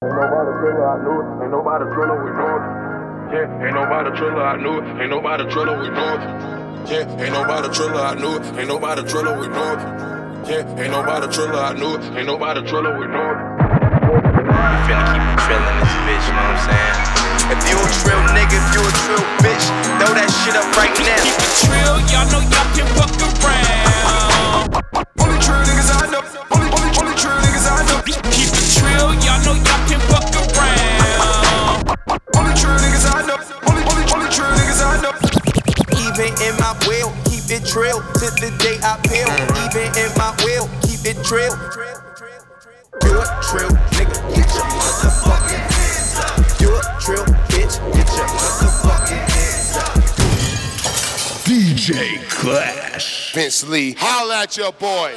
Ain't nobody driller, we know it. Yeah, ain't nobody driller, I knew it. Ain't nobody driller, we know it. Yeah, ain't nobody driller, I knew it. Ain't nobody driller, we know it. Yeah, ain't nobody driller, I knew it. Ain't nobody driller, we know it. We finna keep it trillin' this bitch, you know what I'm saying? If you a trill nigga, if you a trill bitch, throw that shit up right now. Keep it trill, y'all know y'all can fuck around. Only trill niggas I know. Only trill niggas I know. Keep it trill, y'all know y'all can fuck around. Only trill niggas I know. Only trill niggas I know. Even in my will, keep it trill to the day I peel. Even in my will, keep it trill. You a trill nigga, get your motherfucking hands up. You a trill bitch, get your motherfucking hands up. DJ Clash. Vince Lee, holla at your boy.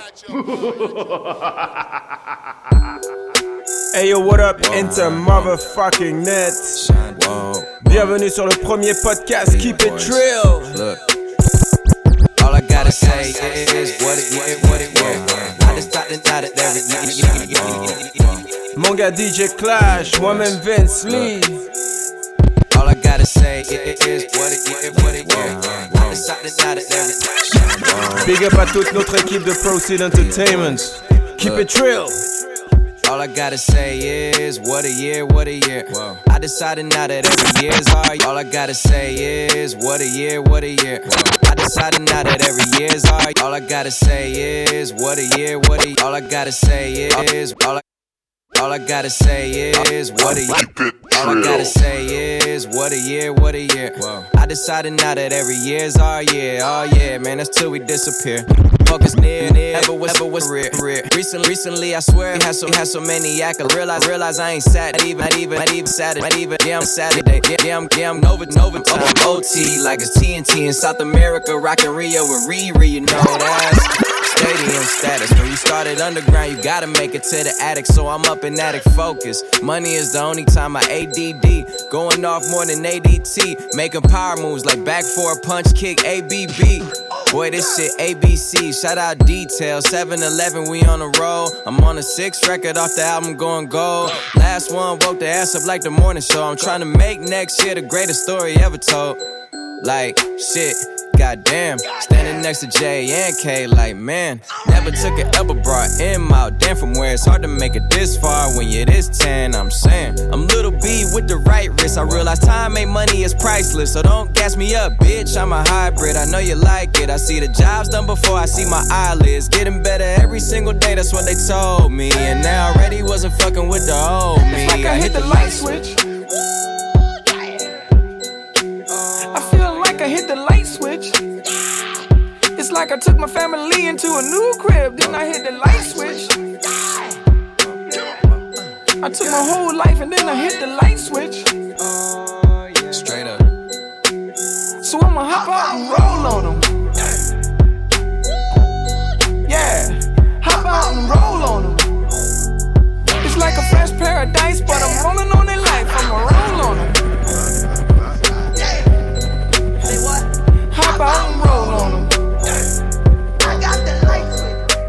Hey yo, what up, Inter motherfucking net. Bienvenue sur le premier podcast Keep It Trill. Look, all I gotta say is what it is. I just thought that every Mon gars DJ Clash, moi-même Vince Lee. all I gotta say is what it is. I just thought that every Big up à toute notre équipe de Proceed Entertainment. Keep It Trill. all I gotta say is what a year. I decided now that every year's all. All I gotta say is what a year. I decided now that every year's all. All I gotta say is what a year. All I gotta say is all I gotta say is what a year. All I gotta say is what a year. I decided now that every year's our year. Oh yeah, man, that's till we disappear. Focus near, ever was real. Recently, I swear, had so many accolades. Realize I ain't sad, not even Saturday. Yeah, I'm Saturday. Yeah, I'm Nova time. OT like it's TNT in South America, rockin' Rio with Riri, you know that's stadium status. When you started underground, you gotta make it to the attic. So I'm up in attic focus. Money is the only time I ADD. Going off more than ADT. Making power moves like back for a punch kick ABB. Boy, this shit ABC. Shout out Detail. 7-Eleven, we on the roll. I'm on a 6th record off the album going gold. Last one woke the ass up like the morning show. I'm trying to make next year the greatest story ever told. Like, shit. Goddamn, standing next to J and K, like man, never took an elbow, brought him out. Damn, from where it's hard to make it this far when you're this 10. I'm saying, I'm little B with the right wrist. I realize time ain't money, is priceless. So don't gas me up, bitch. I'm a hybrid. I know you like it. I see the jobs done before I see my eyelids. Getting better every single day. That's what they told me. And now already wasn't fucking with the old me. It's like I hit the light switch. I hit the light switch. It's like I took my family into a new crib, then I hit the light switch. I took my whole life and then I hit the light switch. Straight up. So I'ma hop out and roll on them. Yeah, hop out and roll on them. It's like a fresh paradise, but I'm rolling on their life. I'ma roll on them. Hop out and roll on them. I got the lights.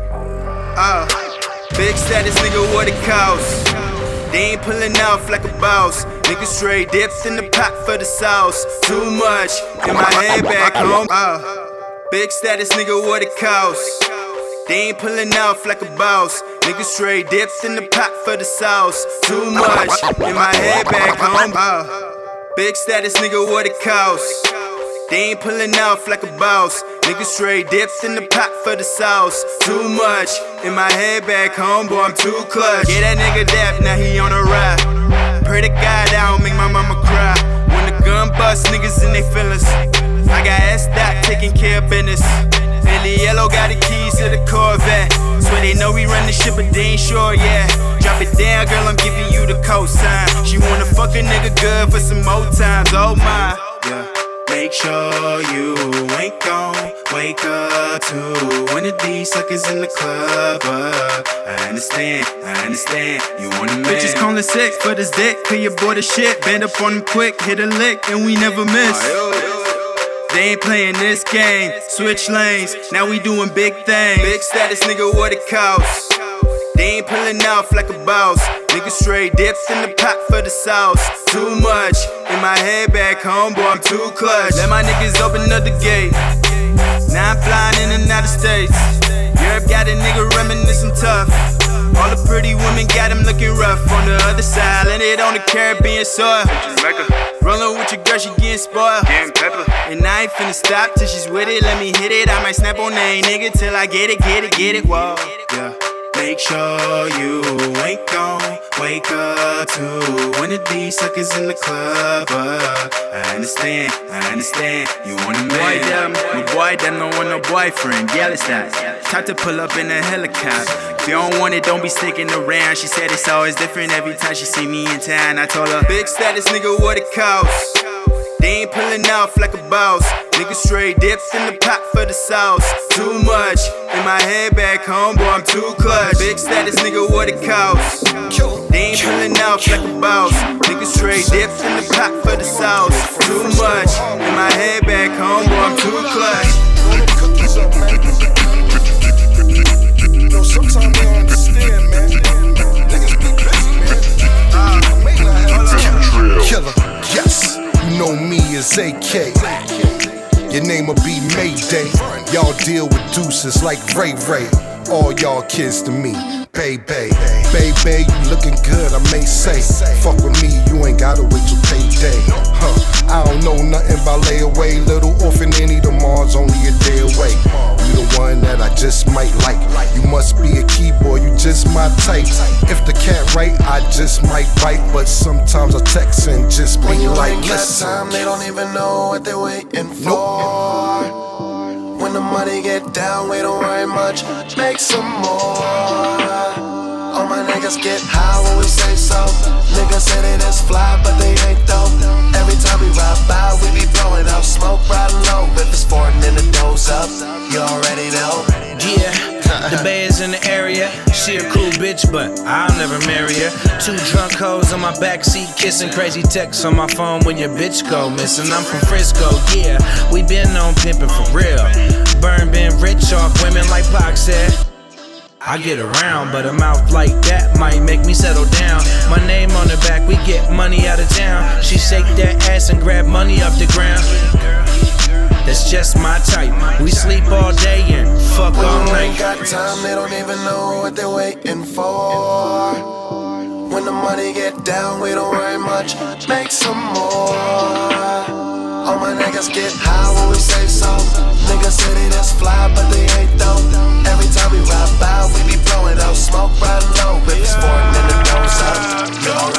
Big status nigga, what it costs? They ain't pulling off like a boss. Niggas straight dipped in the pot for the sauce. Too much in my head back home. Big status nigga, what it costs? They ain't pulling off like a boss. Niggas straight dipped in the pot for the sauce. Too much in my head back home. Big status nigga, what it costs? They ain't pulling off like a boss. Niggas straight dipped in the pot for the sauce. Too much in my head back home, boy, I'm too clutch. Yeah, that nigga dap, now he on a ride. Pray to God I don't make my mama cry. When the gun bust, niggas in they feelings. I got S-Dot taking care of business. Billy Yellow got the keys to the Corvette. Swear they know we run the shit, but they ain't sure yet. Drop it down, girl, I'm giving you the cosign. She wanna fuck a nigga good for some more times, oh my. Yeah. Make sure you ain't gon' wake up to one of these suckers in the club. I understand, you want a man. Bitches callin' sick for this dick, clear your boy the shit. Bend up on them quick, hit a lick, and we never miss. They ain't playing this game, switch lanes, now we doing big things. Big status nigga, what it costs? They ain't pulling off like a boss. Niggas straight dipped in the pot for the sauce. Too much in my head back home, boy, I'm too clutch. Let my niggas open up the gate. Now I'm flying in and out of states. Europe got a nigga reminiscing tough. All the pretty women got him looking rough. On the other side, landed on the Caribbean soil. Rollin' with your girl, she getting spoiled. And I ain't finna stop till she's with it. Let me hit it. I might snap on that nigga till I get it. Whoa, yeah. Make sure you ain't gon' wake up to one of these suckers in the club. I understand, you want a man. My boy, them don't want no boyfriend. Yeah, it's that. Time to pull up in a helicopter. If you don't want it, don't be sticking around. She said it's always different every time she see me in town. I told her, big status, nigga, what it costs. They ain't pulling off like a boss. Niggas straight dipped in the pot for the sauce. Too much in my head back home, boy, I'm too clutch. Big status, nigga, what it costs. They ain't pulling off like a boss. Niggas straight dipped in the pot for the sauce. Too much in my head back home, boy, I'm too clutch. Yo, sometimes they don't understand, man. Niggas be busy, man. Killer, yes. You know me as AK. Your name'll be Mayday. Y'all deal with deuces like Ray Ray. All y'all kids to me, baby. Baby, you looking good, I may say. Fuck with me, you ain't gotta wait till payday. I don't know nothing about layaway. Little orphan Annie, tomorrow's only a day away. You the one that I just might like. You must be a keyboard, you just my type. If the cat right, I just might bite. But sometimes I text and just be like, listen. Time, they don't even know what they're waiting for. When the money get down, we don't worry much. Make some more. All my niggas get high when we say so. Niggas say they just fly, but they ain't though. Every time we ride by, we be blowing out smoke riding low. If it's foreign, then the doors up. You already know. Yeah, the Bay is in the area. She a cool bitch, but I'll never marry her. 2 drunk hoes on my backseat, kissing crazy texts on my phone when your bitch go missing. I'm from Frisco, yeah, we been on pimpin' for real. Burn been rich off women like Pac said. I get around, but a mouth like that might make me settle down. My name on the back, we get money out of town. She shake that ass and grab money off the ground. That's just my type. We sleep all day and fuck all night. When you ain't got time, they don't even know what they're waiting for. When the money get down, we don't worry much. Make some more. All my niggas get high when we say so. Niggas say they just fly, but they ain't though. Every time we ride by, we be blowing out smoke riding low. If it's foreign, then the doors up.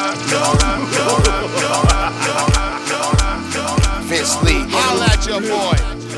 Vince Lee, holla at your boy.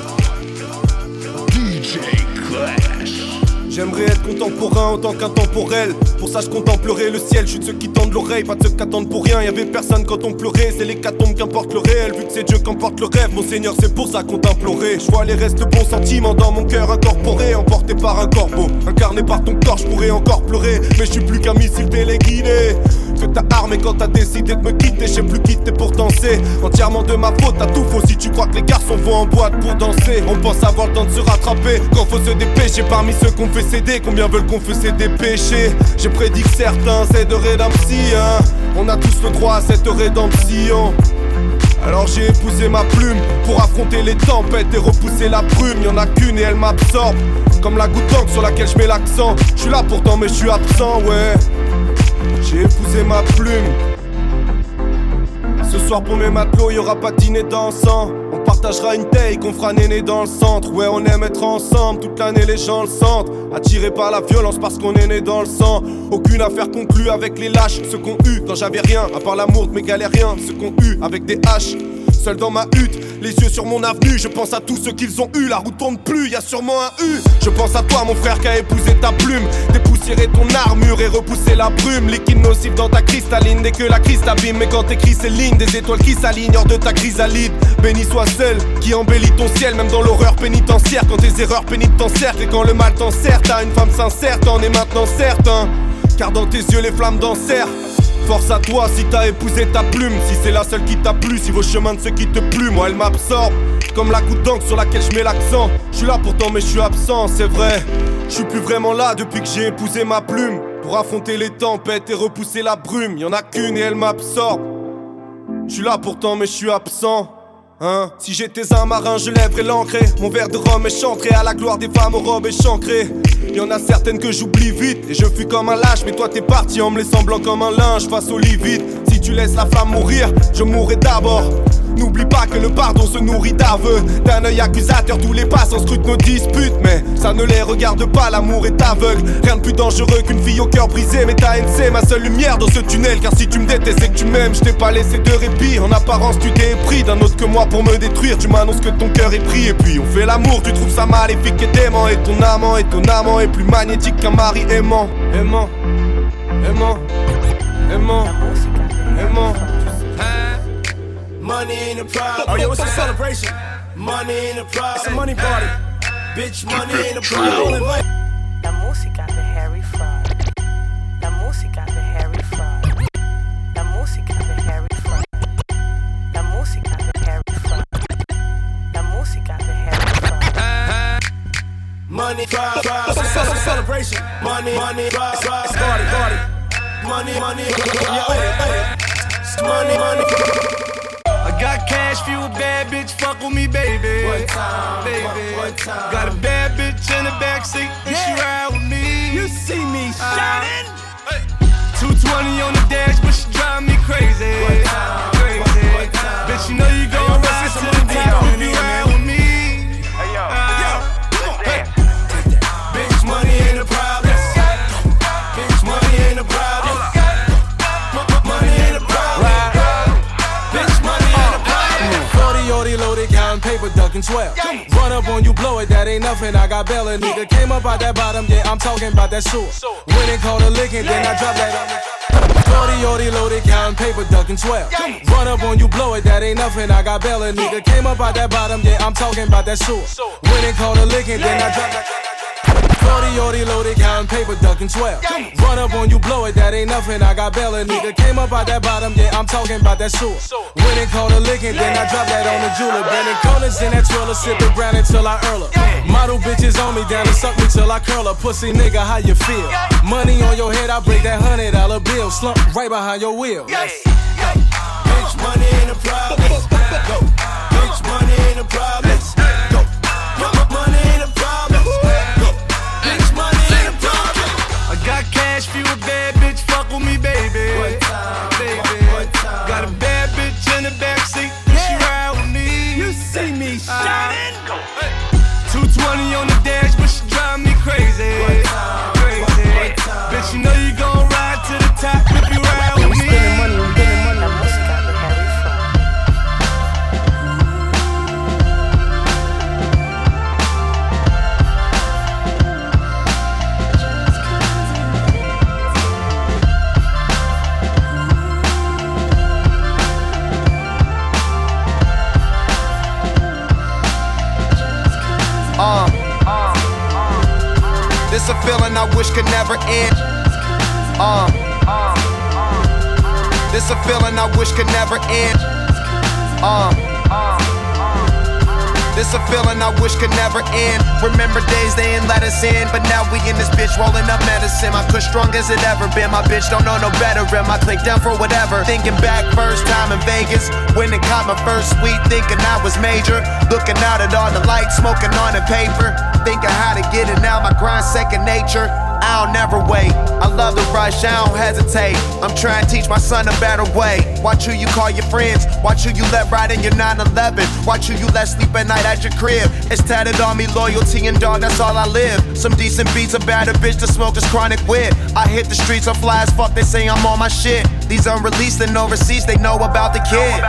DJ Clash. J'aimerais être contemporain autant qu'intemporel. Pour ça je contemplerai le ciel. Je suis de ceux qui tendent l'oreille, pas de ceux qui attendent pour rien. Y'avait personne quand on pleurait, c'est l'hécatombe qu'importe le réel. Vu que c'est Dieu qu'emporte le rêve, mon Seigneur c'est pour ça qu'on t'implorait. Je vois les restes de bons sentiments dans mon cœur incorporé. Emporté par un corbeau, incarné par ton corps, je pourrais encore pleurer. Mais je suis plus qu'un missile téléguidé que t'as armé quand t'as décidé de me quitter. Je sais plus quitter, pourtant c'est entièrement de ma faute. T'as tout faux si tu crois que les garçons vont en boîte pour danser. On pense avoir le temps de se rattraper quand faut se dépêcher. Parmi ceux qu'on fait céder, combien veulent confesser des péchés? J'ai prédit que certains c'est de rédemption. On a tous le droit à cette rédemption. Alors j'ai épousé ma plume pour affronter les tempêtes et repousser la brume. Y'en a qu'une et elle m'absorbe comme la goutte d'encre sur laquelle je mets l'accent. Je suis là pourtant mais je suis absent, ouais. J'ai épousé ma plume. Ce soir pour mes matelots, y'aura pas de dîner dansant. On partagera une take, on fera néné dans le centre. Ouais, on aime être ensemble, toute l'année les gens le sentent. Attirés par la violence parce qu'on est né dans le sang. Aucune affaire conclue avec les lâches. Ceux qu'on eu quand j'avais rien, à part l'amour de mes galériens. Ceux qu'on eu avec des haches. Seul dans ma hutte, les yeux sur mon avenue. Je pense à tous ceux qu'ils ont eu, la route tourne plus, y'a sûrement un U. Je pense à toi mon frère qui a épousé ta plume. Dépoussiérer ton armure et repousser la brume. Liquide nocif dans ta cristalline dès que la crise t'abîme. Mais quand t'écris ces lignes, des étoiles qui s'alignent hors de ta chrysalide. Béni soit celle qui embellit ton ciel, même dans l'horreur pénitentiaire. Quand tes erreurs pénitent t'encerclent et quand le mal t'enserre. T'as une femme sincère, t'en es maintenant certain. Car dans tes yeux les flammes dansèrent. Force à toi si t'as épousé ta plume. Si c'est la seule qui t'a plu, si vos chemins ne se quittent plus. Moi elle m'absorbe, comme la goutte d'encre sur laquelle je mets l'accent. Je suis là pourtant mais je suis absent, c'est vrai. Je suis plus vraiment là depuis que j'ai épousé ma plume. pour affronter les tempêtes et repousser la brume. Y'en a qu'une et elle m'absorbe. J'suis là pourtant mais j'suis absent. Hein? Si j'étais un marin, je lèverais l'ancré. Mon verre de rhum est chantré à la gloire des femmes aux robes échancrées. Y'en a certaines que j'oublie vite et je fuis comme un lâche. Mais toi t'es parti en me laissant blanc comme un linge face au lit vide. Si tu laisses la flamme mourir, je mourrai d'abord. N'oublie pas que le pardon se nourrit d'aveux. D'un œil accusateur, tous les passants scrutent nos disputes. Mais ça ne les regarde pas, l'amour est aveugle. Rien de plus dangereux qu'une fille au cœur brisé. Mais ta haine c'est ma seule lumière dans ce tunnel. Car si tu me détestes et que tu m'aimes, je t'ai pas laissé de répit. En apparence tu t'es pris d'un autre que moi pour me détruire. Tu m'annonces que ton cœur est pris. Et puis on fait l'amour, tu trouves ça maléfique et dément. Et ton amant est plus magnétique qu'un mari aimant. Aimant, aimant, aimant, aimant. Money ain't a problem. Oh, yo, it's a celebration. Money ain't a problem. It's a money party. Bitch, money ain't a problem. La música de Harry Fraud. La música de Harry Fraud. La música de Harry Fraud. La música de Harry Fraud. La música de Harry Fraud. Money, it's a celebration. Money, it's party. Money, money. I got cash for you, a bad bitch, fuck with me, baby. One time, baby. One time. Got a bad bitch in the backseat, and she ride with me. You see me shining. 220 on the dash, but she drive me crazy. One time, crazy. One time. Bitch, you know you gon' rise to the top if you ride with me. Hey, yo, hey. Bitch, money ain't a problem. Bitch, money ain't a problem. Money ain't a problem. Bitch, money ain't a problem. 40 loaded, counting paper, ducking 12. Run up on you, blow it, that ain't nothing. I got Bella, nigga. Came up out that bottom, yeah, I'm talking about that sewer. When it called a licking, then I drop that on the 40 loaded, counting paper, ducking 12. Run up on you, blow it, that ain't nothing. I got Bella, nigga. Came up out that bottom, yeah, I'm talking about that sewer. When it called a licking, then I drop that. 40 loaded, counting paper, ducking 12. Run up on you, blow it, that ain't nothing. I got Bella, nigga. Came up out that bottom, yeah, I'm talking about that sewer. When it called a licking, then I drop that on the jeweler. Bending corners in that trailer, sipping brown until I earl her. Model bitches on me, down and suck me till I curl her. Pussy nigga, how you feel? Money on your head, I break that $100 bill. Slump right behind your wheel. Bitch, money ain't a problem. Bitch, money ain't a problem. Money ain't a problem. Bitch, money ain't a problem. I got cash for you, a bad bitch, fuck with me, baby. One time, baby. Got a bad bitch in the backseat, and she ride with me. You see me shining. 220 on the dash, but she drive me crazy. Crazy. Bitch, you know you gon' ride to the top if you ride with me. La música de Harry Fraud. This a feeling I wish could never end. This a feeling I wish could never end. This a feeling I wish could never end. Remember days they ain't let us in, but now we in this bitch rolling up medicine. My kush strong as it ever been. My bitch don't know no better. And my click down for whatever. Thinking back first time in Vegas, when it caught my first sweet, thinking I was major. Looking out at all the lights, smoking on the paper. Thinking how to get it now. My grind second nature. I'll never wait. I love the rush, I don't hesitate. I'm trying to teach my son a better way. Watch who you call your friends. Watch who you let ride in your 911. Watch who you let sleep at night at your crib. It's tatted on me, loyalty and dog, that's all I live. Some decent beats about a bitch to smoke this chronic wit. I hit the streets, I'm fly as fuck, they say I'm on my shit. These unreleased and overseas, they know about the kid.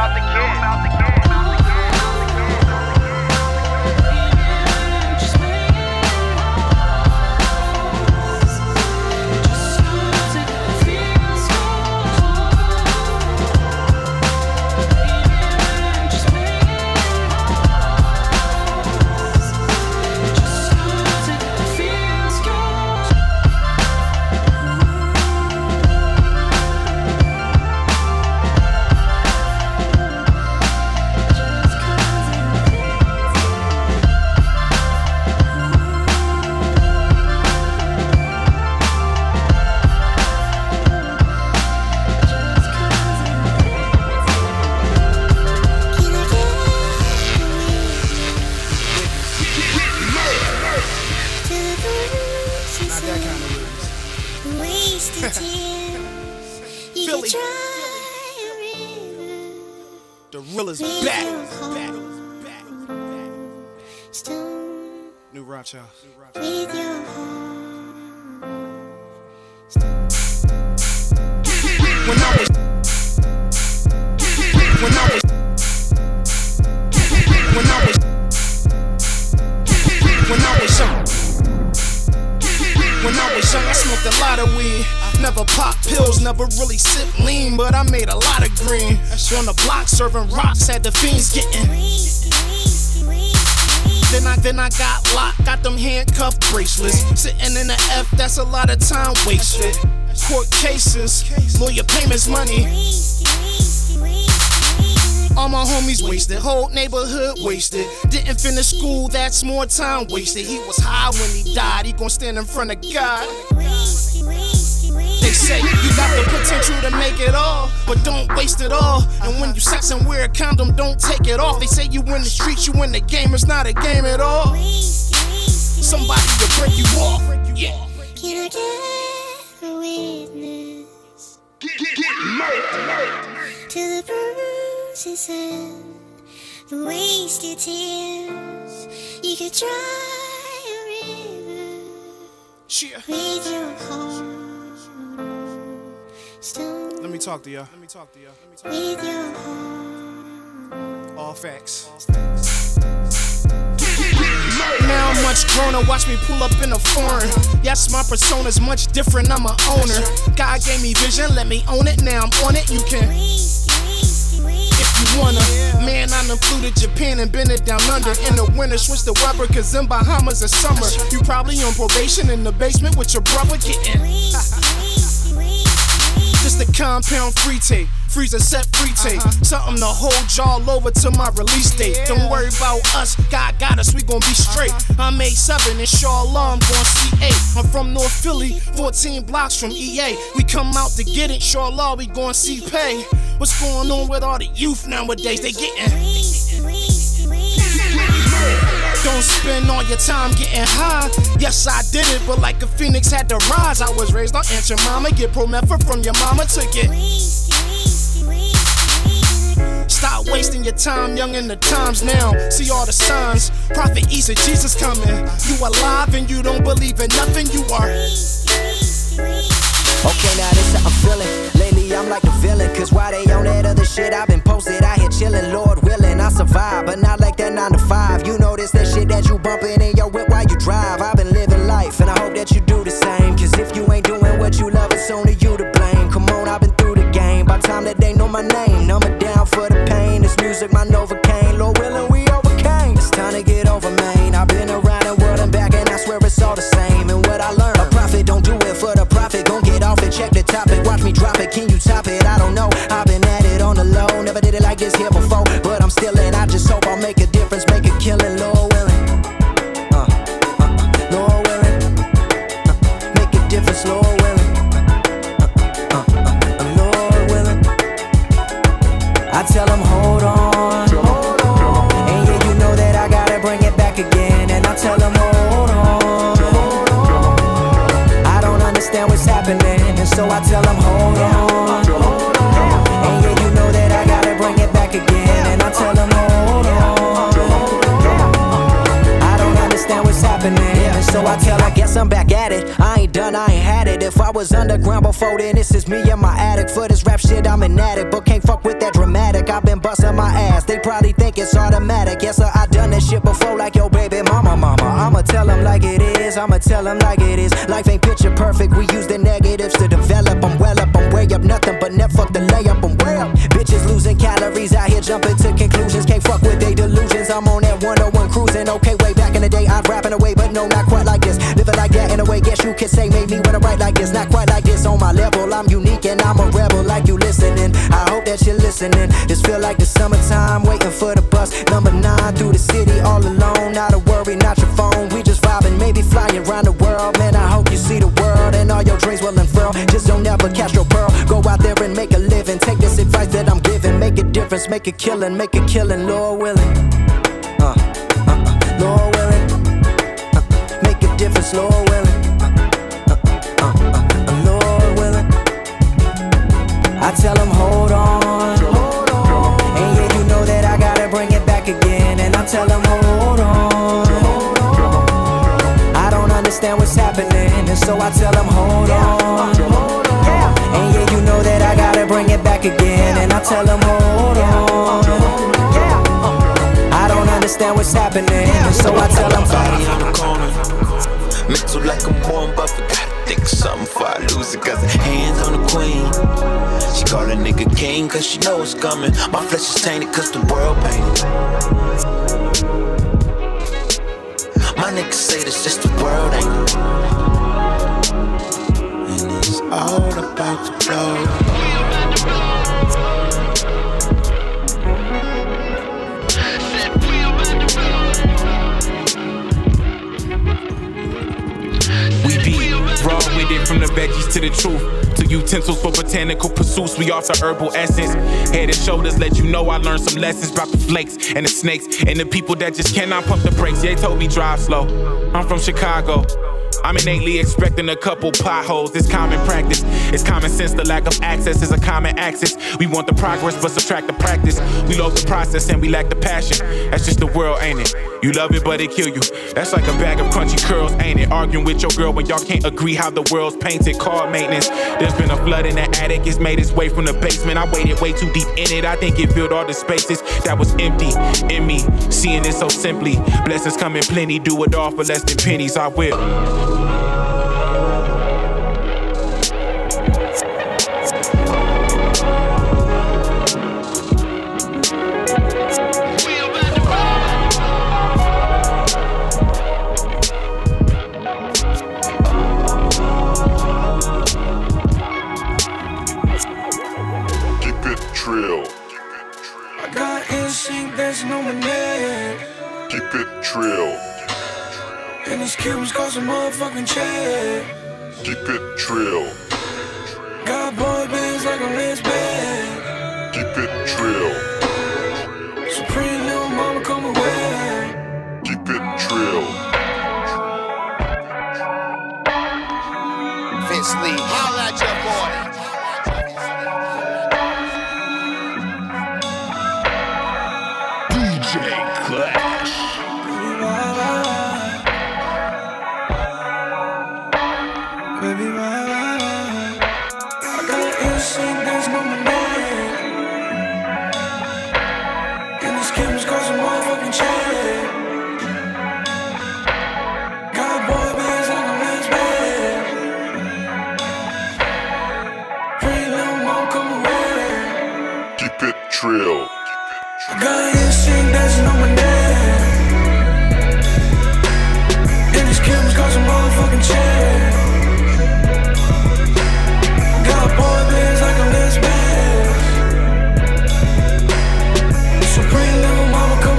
Philly. The real is back. New Rock House. With your When I was young, I smoked a lot of weed. Never popped pills, never really sipped lean, but I made a lot of green. On the block serving rocks, had the fiends getting. Then I got locked, got them handcuff bracelets. Sitting in the F, that's a lot of time wasted. Court cases, lawyer payments, money. All my homies wasted, whole neighborhood wasted. Didn't finish school, that's more time wasted. He was high when he died, he gon' stand in front of God. They say you got the potential to make it all, but don't waste it all. And when you sex and wear a condom, don't take it off. They say you in the streets, you in the game, it's not a game at all. Somebody will break you off. Yeah. Can I get a witness? Get murdered To the bruises and the wasted tears. You could try a river with your heart. Let me talk to y'all. With your heart. All facts. Now I'm much grown, watch me pull up in a foreign. Yes, my persona's much different, I'm an owner. God gave me vision, let me own it, now I'm on it, you can. If you wanna, man, I done flew to Japan and been it down under. In the winter, switch the weather, cause in Bahamas it's summer. You probably on probation in the basement with your brother getting. Just a compound free tape, freezer set free tape. Something to hold y'all over to my release date. Don't worry about us, God got us, we gon' be straight. I'm 8'7", inshallah I'm gon' see 8. I'm from North Philly, 14 blocks from EA. We come out to get it, inshallah we gon' see pay. What's going on with all the youth nowadays? They getting. Don't spend all your time getting high. Yes, I did it, but like a phoenix had to rise. I was raised on Aunt your mama. Get promethazine from your mama, took it. Stop wasting your time, young in the times now. See all the signs. Prophet Isa, Jesus coming. You alive and you don't believe in nothing you are. Okay, now this how I'm feeling. Lately I'm like a villain, cause why they on that other shit? I've been posted out here chillin', Lord willing, I survive. But not like that 9 to 5. You know this, that shit that you bumpin' in your whip while you drive. I've been living life, and I hope that you do the same. Cause if you ain't doing what you love, it's only you to blame. Come on, I've been through the game. By time that they know my name, number down for the pain. This music, my Novocaine. Lord willing, we overcame. It's time to get over, man. I've been around the world and back, and I swear it's all the same. And what I learned, a prophet don't do it for the profit. Gon' get off and check the topic. Watch me drop it, can you top it? I don't know. I've been at it on the low. Never did it like this here before, but I'm still in. I just hope I'll make a difference, make a killing, Lord willing. Lord willing. Make a difference, Lord willing. Lord willing. I tell them hold on. And yeah, you know that I gotta bring it back again. And I tell them hold on. I don't understand what's happening, and so I tell them hold on. And yeah, you know that I gotta bring it back again. And I tell them hold on. I don't understand what's happening, and so I tell, I guess I'm back at it. I ain't done, I ain't had it. If I was underground before then, this is me in my attic. For this rap shit, I'm an addict, but can't fuck with that dramatic. I've been busting my ass, they probably think it's automatic. Yes, sir, I done that shit before, like your baby mama. I'ma tell them like it is, I'ma tell them like it is. Life ain't picture perfect, we use the negatives to develop. I'm well up, I'm way up, nothing but net, fuck the layup, I'm way up. Bitches losing calories out here jumping to conclusions. Can't fuck with they delusions, I'm on that 101 cruising. Okay, way back in the day, I'd rapping away, but no, not quite like this. Living like that in a way, guess you could say made me wanna write like this. Not quite like this on my level, I'm unique and I'm a rebel like you listening. I hope that you're listening. This feel like the summertime, waiting for the bus. Number 9 through the city, all alone. Not a worry, not your phone, we just vibing, maybe flying around the world. Man, I hope you see the world and all your dreams will unfurl. Just don't ever catch your pearl. Go out there and make a living. Take this advice that I'm giving. Make a difference, make a killing, Lord willing. Lord willing. Make a difference, Lord willing. Lord willing. I tell them hold on. And yeah, you know that I gotta bring it back again. And I tell them hold on. I don't understand what's happening, and so I tell them hold on. And yeah, you know that I gotta bring it back again. And I tell them hold on. I don't understand what's happening, and so I tell them body on the corner, mental like I'm born, but forgot to think of something before I lose it. Cause hands on the queen, she call a nigga king cause she know it's coming. My flesh is tainted cause the world painted. My niggas say this just the world ain't it. And it's all about the flow. Raw with it from the veggies to the truth. To utensils for botanical pursuits, we offer herbal essence. Head and shoulders let you know I learned some lessons about the flakes and the snakes and the people that just cannot pump the brakes. They told me drive slow. I'm from Chicago. I'm innately expecting a couple potholes. It's common practice. It's common sense. The lack of access is a common axis. We want the progress, but subtract the practice. We love the process and we lack the passion. That's just the world, ain't it? You love it, but it kill you. That's like a bag of crunchy curls, ain't it? Arguing with your girl when y'all can't agree how the world's painted. Called maintenance. There's been a flood in the attic. It's made its way from the basement. I waited way too deep in it. I think it filled all the spaces that was empty in me. Seeing it so simply. Blessings come in plenty. Do it all for less than pennies. I will. Keep it trill. And these Cubans cause a motherfucking check. Keep it trill. Got boy bands like a Lance band. Keep it trill. Supreme little mama come away. Keep it trill. Vince Lee, holla at your boy. Trill. Got instinct dancing on my neck. And these Cubans cause a motherfucking check. Got boy bands like a Lance band. Supreme little mama come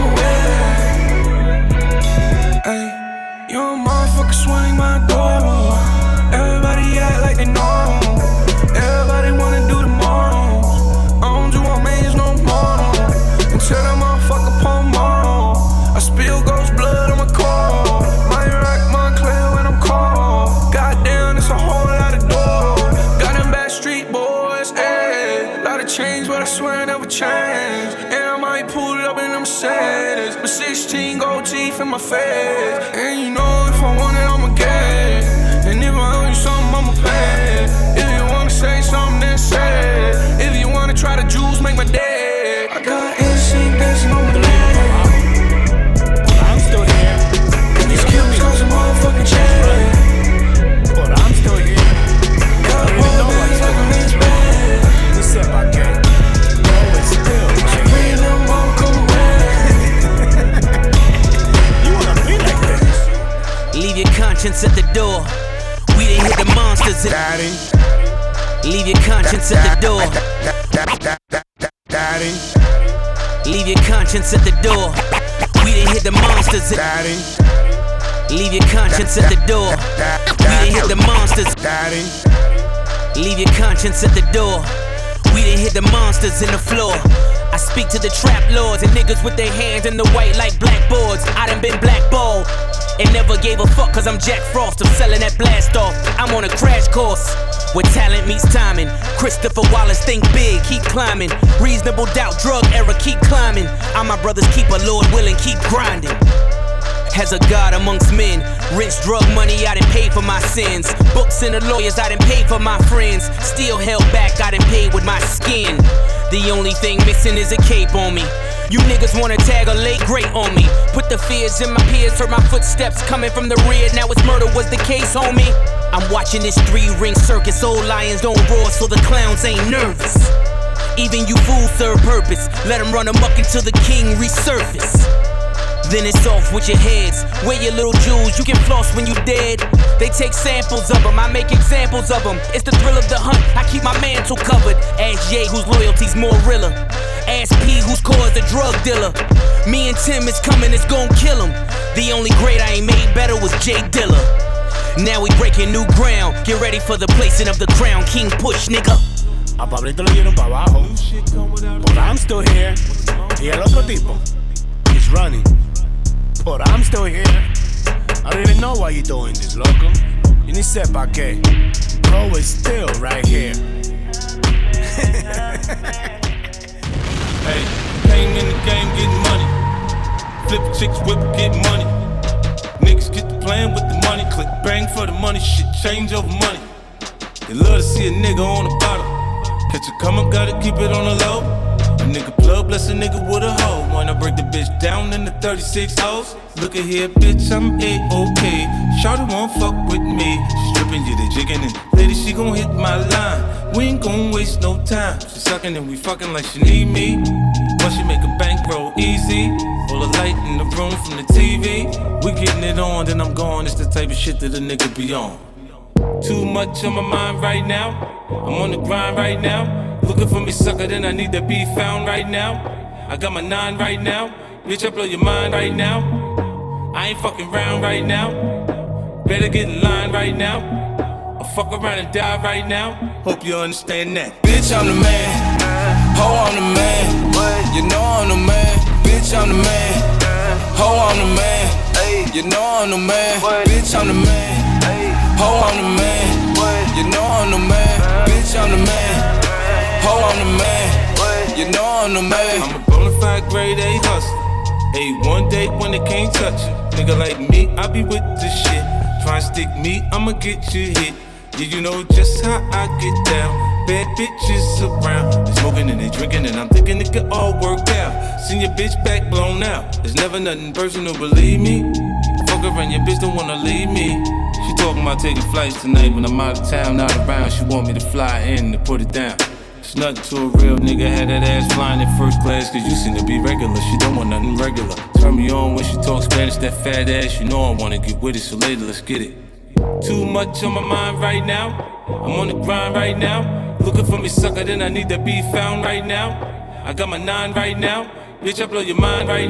away. Ay, young motherfucker swing my door. Everybody act like they know. Everybody wanna do the most. I don't do my mans no more. Until that motherfucker pull more. I spill ghost blood on my core. My rock, my clear when I'm cold. Goddamn, it's a whole lot of doors. Got them back street boys, ayy. Lot of change, but I swear I never change. And I might pull it up in them Mercedes. But 16 gold teeth in my face. And you know if I want it, I'ma get it. And if I owe you something, I'ma pay it. If you wanna say something, then say it. If you wanna try to juice, make my day. I got instinct dancing on my leg. I'm still here. And these Cubans cause a motherfucking check. But I'm still here. Got boy bands like a Lance band. What's up, I can't. Always still. Supreme little mama come away. You wanna be like this? Leave your conscience at the door. We done hit the monsters. Daddy. Leave your conscience at the door. Daddy. Leave your conscience at the door. We done hit the monsters. Daddy. Leave your conscience at the door. We done hit the monsters. Daddy. Leave your conscience at the door. We done hit the monsters in the floor. I speak to the trap lords and niggas with their hands in the white like blackboards. I done been blackballed. and never gave a fuck cause I'm Jack Frost. I'm selling that blast off. I'm on a crash course where talent meets timing. Christopher Wallace, think big, keep climbing. Reasonable doubt, drug era, keep climbing. I'm my brother's keeper, Lord willing, keep grinding. As a god amongst men, rich drug money, I done paid for my sins. Books and the lawyers, I done paid for my friends. Still held back, I done paid with my skin. The only thing missing is a cape on me. You niggas wanna tag a late great on me. Put the fears in my peers, heard my footsteps coming from the rear. Now it's murder was the case, homie. I'm watching this 3-ring circus. Old lions don't roar, so the clowns ain't nervous. Even you fools serve purpose. Let them run amok until the king resurface. Then it's off with your heads. Wear your little jewels, you can floss when you dead. They take samples of them, I make examples of them. It's the thrill of the hunt, I keep my mantle covered. Ask Ye whose loyalty's more realer. Ask P whose core is a drug dealer. Me and Tim is coming, it's gon' kill him. The only great I ain't made better was Jay Dilla. Now we breaking new ground. Get ready for the placing of the crown. King push, nigga. A Pablito le dieron pa' abajo, but I'm still here. Y el otro tipo, he's running, but I'm still here. I don't even know why you're doing this, loco. You ni sepa que, bro is still right here. Hey, came in the game getting money. Flip chicks, whip, get money. Niggas get the plan with the money. Click bang for the money, shit change over money. They love to see a nigga on the bottom. Catch a come up, gotta keep it on the low. A nigga plug, bless a nigga with a hoe. Wanna break the bitch down in the 36 hoes. Look at here, bitch, I'm A-OK. Shawty won't fuck with me. She stripping you, the jigging, and lady, she gon' hit my line. We ain't gon' waste no time. She sucking and we fucking like she need me. Once she make a bankroll easy. All the light in the room from the TV. We getting it on, then I'm gone. It's the type of shit that a nigga be on. Too much on my mind right now. I'm on the grind right now. Looking for me, sucker, then I need to be found right now. I got my 9 right now. Bitch, I blow your mind right now. I ain't fucking round right now. Better get in line right now. I'll fuck around and die right now. Hope you understand that. Bitch, I'm the man. Ho, I'm the man. You know I'm the man. Bitch, I'm the man. Ho, I'm the man. You know I'm the man. Bitch, I'm the man. Ho, I'm the man. You know I'm the man. Bitch, I'm the man. Ho, I'm the man. You know I'm the man. I'm a bonafide grade A hustler. A1 day when they can't touch you. Nigga like me, I be with this shit. Try and stick me, I'ma get you hit. Yeah, you know just how I get down. Bad bitches around. They smoking and they drinking and I'm thinking it could all work out. Seen your bitch back blown out. There's never nothing personal, believe me. Fuck around, your bitch don't wanna leave me. She talking about taking flights tonight when I'm out of town, not around. She want me to fly in to put it down. It's nothing to a real nigga, had that ass flying in first class. Cause you seem to be regular, she don't want nothing regular. Turn me on when she talks Spanish, that fat ass. You know I wanna get with it, so later let's get it. Too much on my mind right now. I'm on the grind right now. Looking for me, sucker, then I need to be found right now. I got my 9 right now. Bitch, I blow your mind right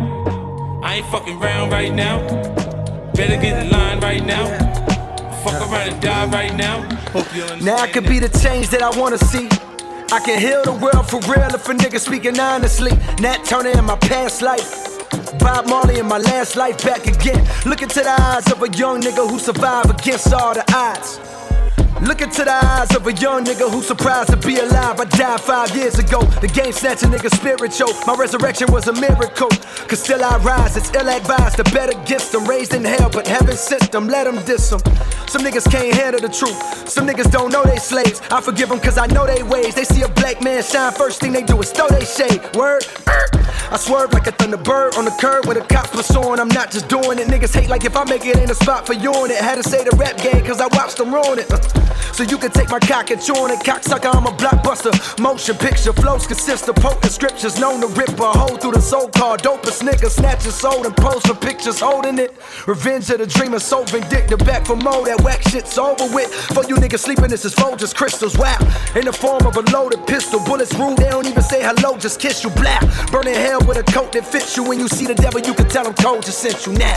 now. I ain't fucking round right now. Better get in line right now. Fuck around and die right now. Hope you understand. Now I could be the change that I wanna see. I can heal the world for real if a nigga speaking honestly. Nat Turner in my past life, Bob Marley in my last life, back again. Look into the eyes of a young nigga who survived against all the odds. Look into the eyes of a young nigga who's surprised to be alive. I died 5 years ago. The game snatched a nigga spiritual. My resurrection was a miracle. Cause still I rise, it's ill advised to bet against them. Raised in hell, but heaven sent them, let them diss them. Some niggas can't handle the truth. Some niggas don't know they slaves. I forgive them cause I know they ways. They see a black man shine, first thing they do is throw they shade. Word? I swerve like a thunderbird on the curb with a cop pursuing. I'm not just doing it. Niggas hate like if I make it ain't a spot for you on it. Had to say the rap game cause I watched them ruin it. So you can take my cock and chew on it. Cocksucker, I'm a blockbuster. Motion picture flows consist of potent scriptures known to rip a hole through the so-called dopest nigga. Snatch his soul and pose for pictures holding it. Revenge of the dreamer, so vindictive. Back for more, that whack shit's over with. For you niggas sleeping, this is Folgers crystals. Wow, in the form of a loaded pistol. Bullets rude, they don't even say hello, just kiss you. Blah, burning hell with a coat that fits you. When you see the devil, you can tell him cold just sent you now.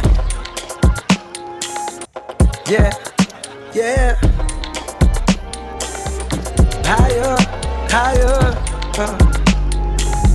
Yeah, yeah. Higher, higher,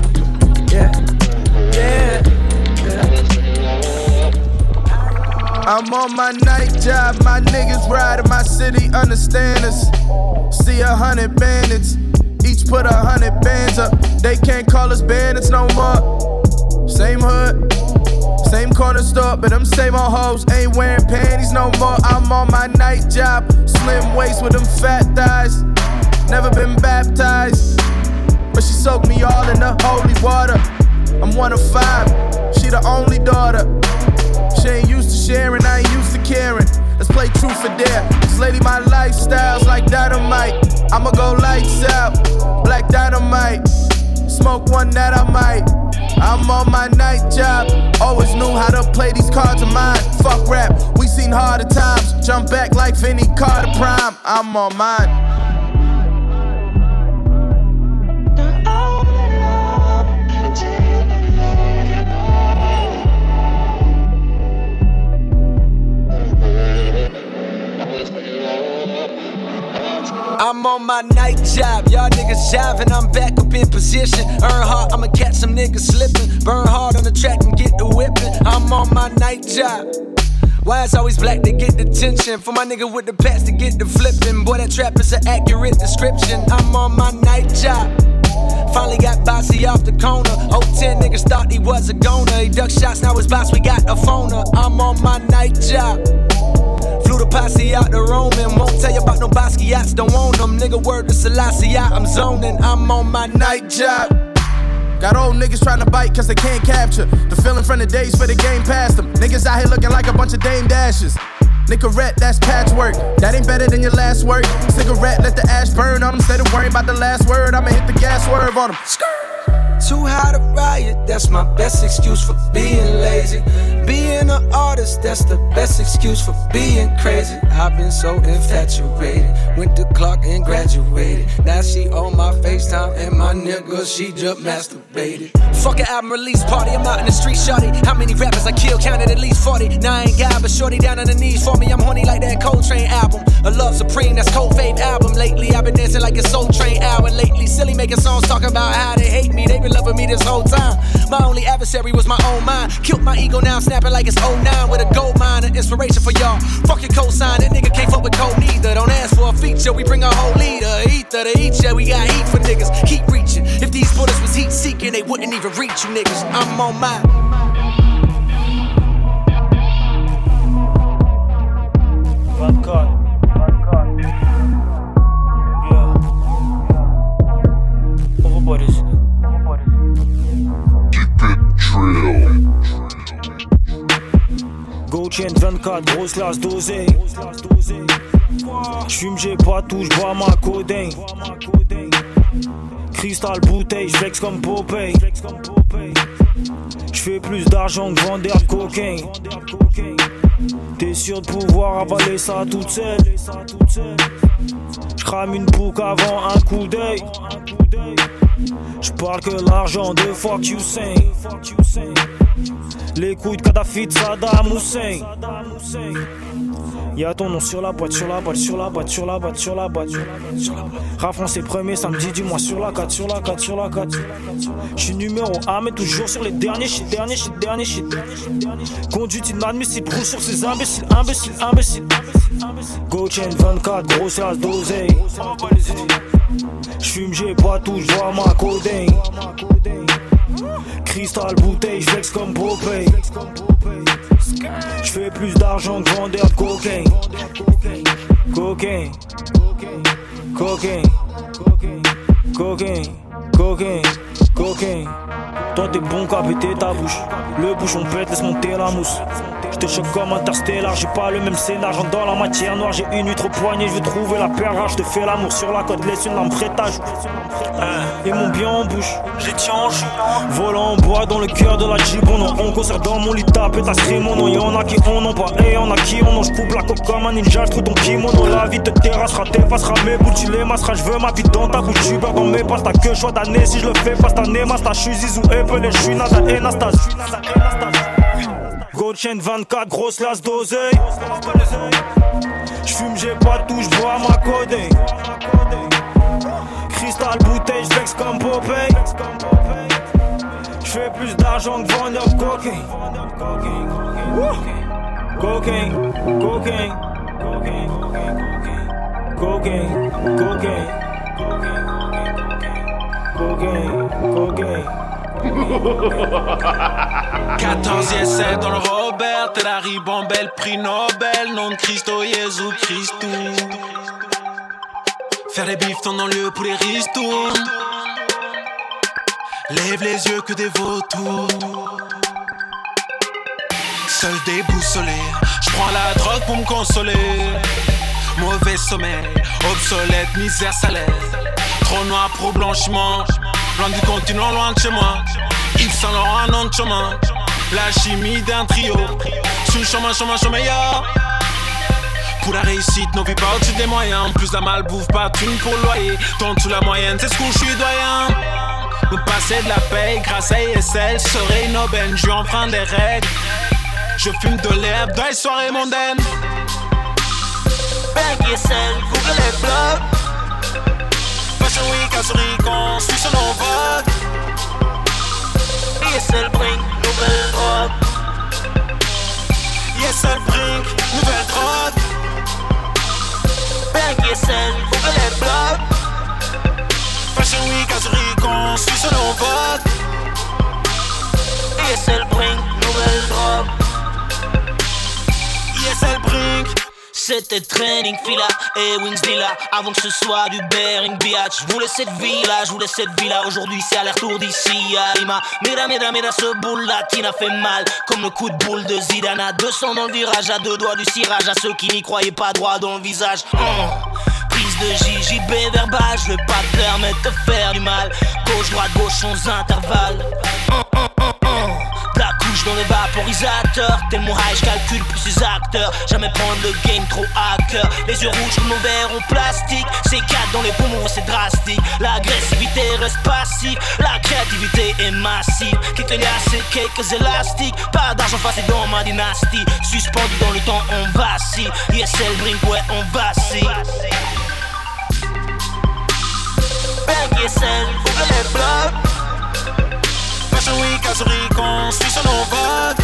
yeah, yeah, yeah. I'm on my night job, my niggas ride in my city, understand us. See 100 bandits, each put 100 bands up. They can't call us bandits no more. Same hood, same corner store, but them same old hoes ain't wearing panties no more. I'm on my night job, slim waist with them fat thighs. Never been baptized, but she soaked me all in the holy water. I'm 1 of 5, she the only daughter. She ain't used to sharing, I ain't used to caring. Let's play truth or dare. This lady, my lifestyle's like dynamite. I'ma go lights out, black dynamite. Smoke one that I might. I'm on my night job. Always knew how to play these cards of mine. Fuck rap, we seen harder times. Jump back like Vinny Carter Prime. I'm on mine. I'm on my night job, y'all niggas jiving, I'm back up in position. Earn hard, I'ma catch some niggas slipping. Burn hard on the track and get the whipping. I'm on my night job. Why it's always black to get the tension? For my nigga with the pats to get the flipping. Boy, that trap is an accurate description. I'm on my night job. Finally got Bossy off the corner. 010 niggas thought he was a goner. He ducked shots, now his boss, we got a phoner. I'm on my night job. Flew the posse out to Roman. Won't tell you about no Basquiat's, don't want them. Nigga, word to Selassie, I'm zoning. I'm on my night job. Got old niggas trying to bite cause they can't capture the feeling from the days for the game past them. Niggas out here looking like a bunch of Dame Dashes. Nicorette, that's patchwork. That ain't better than your last work. Cigarette, let the ash burn on them. Instead of worrying about the last word, I'ma hit the gas swerve on them. Too high to riot, that's my best excuse for being lazy. Being an artist, that's the best excuse for being crazy. I've been so infatuated, went to Clark and graduated. Now she on my FaceTime and my nigga, she just masturbated. Fuck an album release party, I'm out in the street, shorty. How many rappers I killed, counted at least 40. Now I ain't got, but shorty down on the knees for me. I'm horny like that Coltrane album. A Love Supreme, that's Cold Fave album. Lately I've been dancing like a Soul Train hour. Lately silly making songs talking about how they hate me. They been loving me this whole time. My only adversary was my own mind. Killed my ego, now I'm snapping like it's 09 with a gold mine. An inspiration for y'all. Fuck your cosign, that nigga can't fuck with cold neither. Don't ask for a feature, we bring a whole leader. Ether to each, yeah, we got heat for niggas. Keep reaching. If these bullets was heat seeking, they wouldn't even reach you niggas. I'm on mine. 24. Gauthier 24, grosse lasse dosée. J'fume, j'ai pas tout, j'bois ma codeine. Cristal bouteille, j'flex comme Popeye. J'fais plus d'argent que vendeur de cocaine. T'es sûr de pouvoir avaler ça toute seule. J'crame une boucle avant un coup d'œil. J'parle que l'argent deux fois que you say. Les couilles de Kadhafi de Saddam Hussein. Y'a ton nom sur la boîte, sur la boîte, sur la boîte, sur la boîte, sur la boîte. Rap français premier samedi du mois sur la 4, sur la 4, sur la 4. J'suis numéro 1 mais toujours sur les derniers shit, dernier shit, dernier shit. Conduite inadmissible, roule sur ces imbéciles, imbéciles, imbéciles. Gauthier 24, grosse lasse d'oseille. J'fume, j'ai pas tout, j'vois ma codeine. Cristal bouteille, j'flex comme Popeye. J'fais plus d'argent que vendeur de cocaine. Cocaine, cocaine, cocaine, cocaine, cocaine. Toi t'es bon qu'à péter ta bouche. Le bouchon pète, laisse monter la mousse. J'te choque comme Interstellar, j'ai pas le même scénar. J'entre dans la matière noire, j'ai une huître au poignet. J'veux trouver la perle rare, j'te fais l'amour sur la côte. Laisse une lampe prêtage. Et mon bien en bouche, j'ai tiens en jus. Volant en bois dans le cœur de la Jibono. On concert dans mon lit, tape et ta mon nom. Y'en a qui en ont pas et y'en a qui en ont. J'coupe la coque comme un ninja, j'trouve ton kimono. La vie te terrassera, t'effacera mes bouts, tu les masseras. J'veux ma vie dans ta bouche, tu beurre dans mes passes. T'as que choix d'année si je le fais pas cette année. Masta, j'suis Zizou, Apple et j'suis Nada et Nastas. Gauthier 24, grosse lasse d'oseille. J'fume, j'ai pas tout, j'bois ma codeine. Cristal bouteille, j'flex comme Popeye. J'fais plus d'argent que vendeur de cocaine. Cocaine, cocaine, cocaine, cocaine, cocaine, cocaine, cocaine. 14 essais dans le Robert, et la ribambelle, prix Nobel, nom de Christo, Jésus Christou. Faire les bifs dans le lieu pour les ristournes. Lève les yeux que des vautours. Seul déboussolé, j'prends la drogue pour me consoler. Mauvais sommeil, obsolète, misère, salaire. Trop noir pour blanchiment. Loin du continent, loin de chez moi. Yves Saint Laurent, nom de chemin. La chimie d'un trio. Sur le chemin, yo. Pour la réussite, nos vies pas au-dessus des moyens. Plus la malbouffe, pas thune pour le loyer. Tourne sous la moyenne, c'est ce que je suis doyen. Nous passer de la paye grâce à ESL. Serait une aubaine, je enfreins des règles. Je fume de l'herbe dans les soirées mondaines. Bank ESL, Google les blogs. Fashion Week à Zurich, on suit son vogue. ESL bring nouvelle drogue. ESL bring nouvelle drogue. Bank ESL, Google les blogs. Fashion Week à Zurich, on suit son vogue. ESL bring nouvelle drogue. ESL bring. C'était training fila et Wings Lila. Avant que ce soit du Bering Beach. Je voulais cette villa, je voulais cette villa. Aujourd'hui c'est aller-retour d'ici à Lima. Mira, ce boule là qui n'a fait mal. Comme le coup de boule de Zidane. À 200 dans le virage, à 2 doigts du cirage. À ceux qui n'y croyaient pas droit dans le visage. Prise de JJB verbal. Je vais pas te permettre de faire du mal. Gauche, droite, gauche sans intervalle. La couche dans le vaporisateur. Tel mon high, j'calcule plus ses acteurs. Jamais prendre le game trop à cœur. Les yeux rouges comme nos verres en plastique. C'est 4 dans les poumons, c'est drastique. L'agressivité reste passive. La créativité est massive. Quelques liasses et quelques élastiques. Pas d'argent facile dans ma dynastie. Suspendu dans le temps, on vacille. ESL Brink, ouais, on vacille. Bank ESL, Google les blogs. Fashion Week à Zurich, on suit son vogue.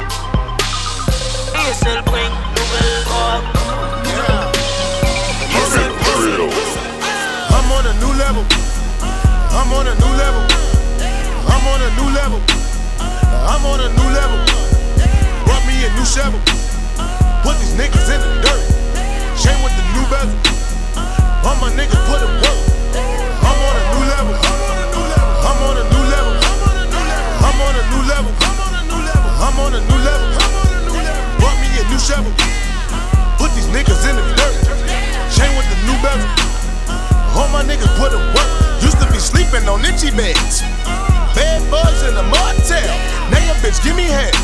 ESL bring nouvelle drogue. ESL bring. I'm on a new level. I'm on a new level. I'm on a new level. I'm on a new level. Brought me a new shovel. Put these niggas in the dirt. Chain with the new bezel. All my niggas put in work. I'm on a new level. I'm on a new level. I'm on a new level. I'm on a new level. Brought me a new shovel. Put these niggas in the dirt. Chain with the new bezel. All my niggas put in work. Used to be sleeping on itchy beds. Bed bugs in the motel. Now your bitch give me head.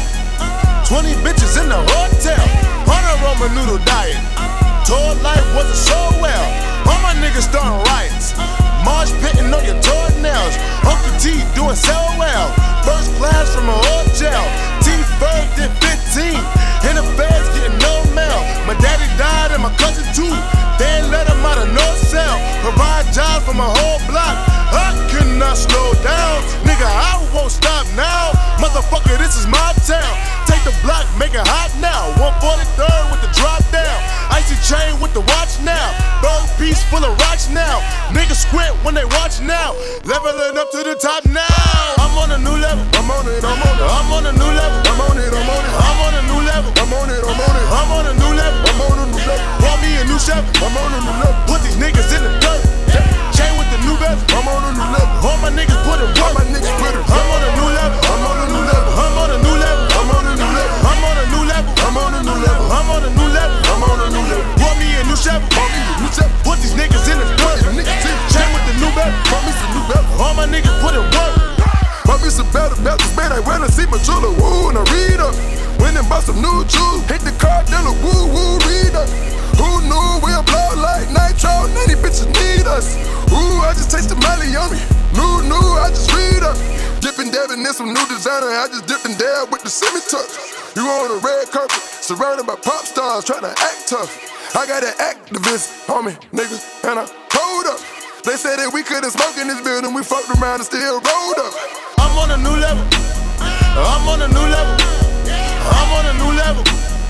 20 bitches in the hotel. On a Roman noodle diet. Told life wasn't so well. All my niggas starting riots. Marsh pitting on your toenails. Uncle T doing so well. First class from a hotel. T-Ferg did 15. And the feds getting no mail. My daddy died and my cousin too. They ain't let him out of no cell. Provide jobs for my whole block. I cannot slow down. Nigga, I won't stop now. Motherfucker, this is my town. Take the block, make it hot now. 143rd with the drop down. Icy chain with the watch now. Bird piece full of rocks now. Niggas squint when they watch now. Leveling up to the top now. I'm on a new level. I'm on it, I'm on it. I'm on a new level. I'm on it, I'm on it. I'm on a new level. I'm on it, I'm on it. I'm on a new level. I'm on a new level. Brought me a new shovel. I'm on a new level. Put these niggas in the dirt. Chain with the new bezel. I'm on a new level. All my niggas put it work. My niggas put it. I'm on a new level. I'm on a new level. I'm on a new level. I'm on a new level. I'm on a new level. I'm on a new level. I'm on a new level. I'm on a new level. Brought me a new shovel. Brought me a new shovel. Put these niggas in the dirt. Chain with the new bezel. Brought me some new bezel. All my niggas put it work. Brought me some better belts, man. I went to see my jeweler. Woo, and I read up. Went and bought some new jewels. Hit the car dealer. Woo, woo, read up. Who knew we'll blow like nitro? 90 bitches need us. Ooh, I just taste the Molly on me. New, I just read up. Dippin' dabbing in some new designer. I just dipped and dab with the semi-touch. You on a red carpet, surrounded by pop stars, tryna act tough. I got an activist on me, niggas, and I hold up. They said that we couldn't smoke in this building. We fucked around and still rolled up. I'm on a new level. I'm on a new level. I'm on a new level.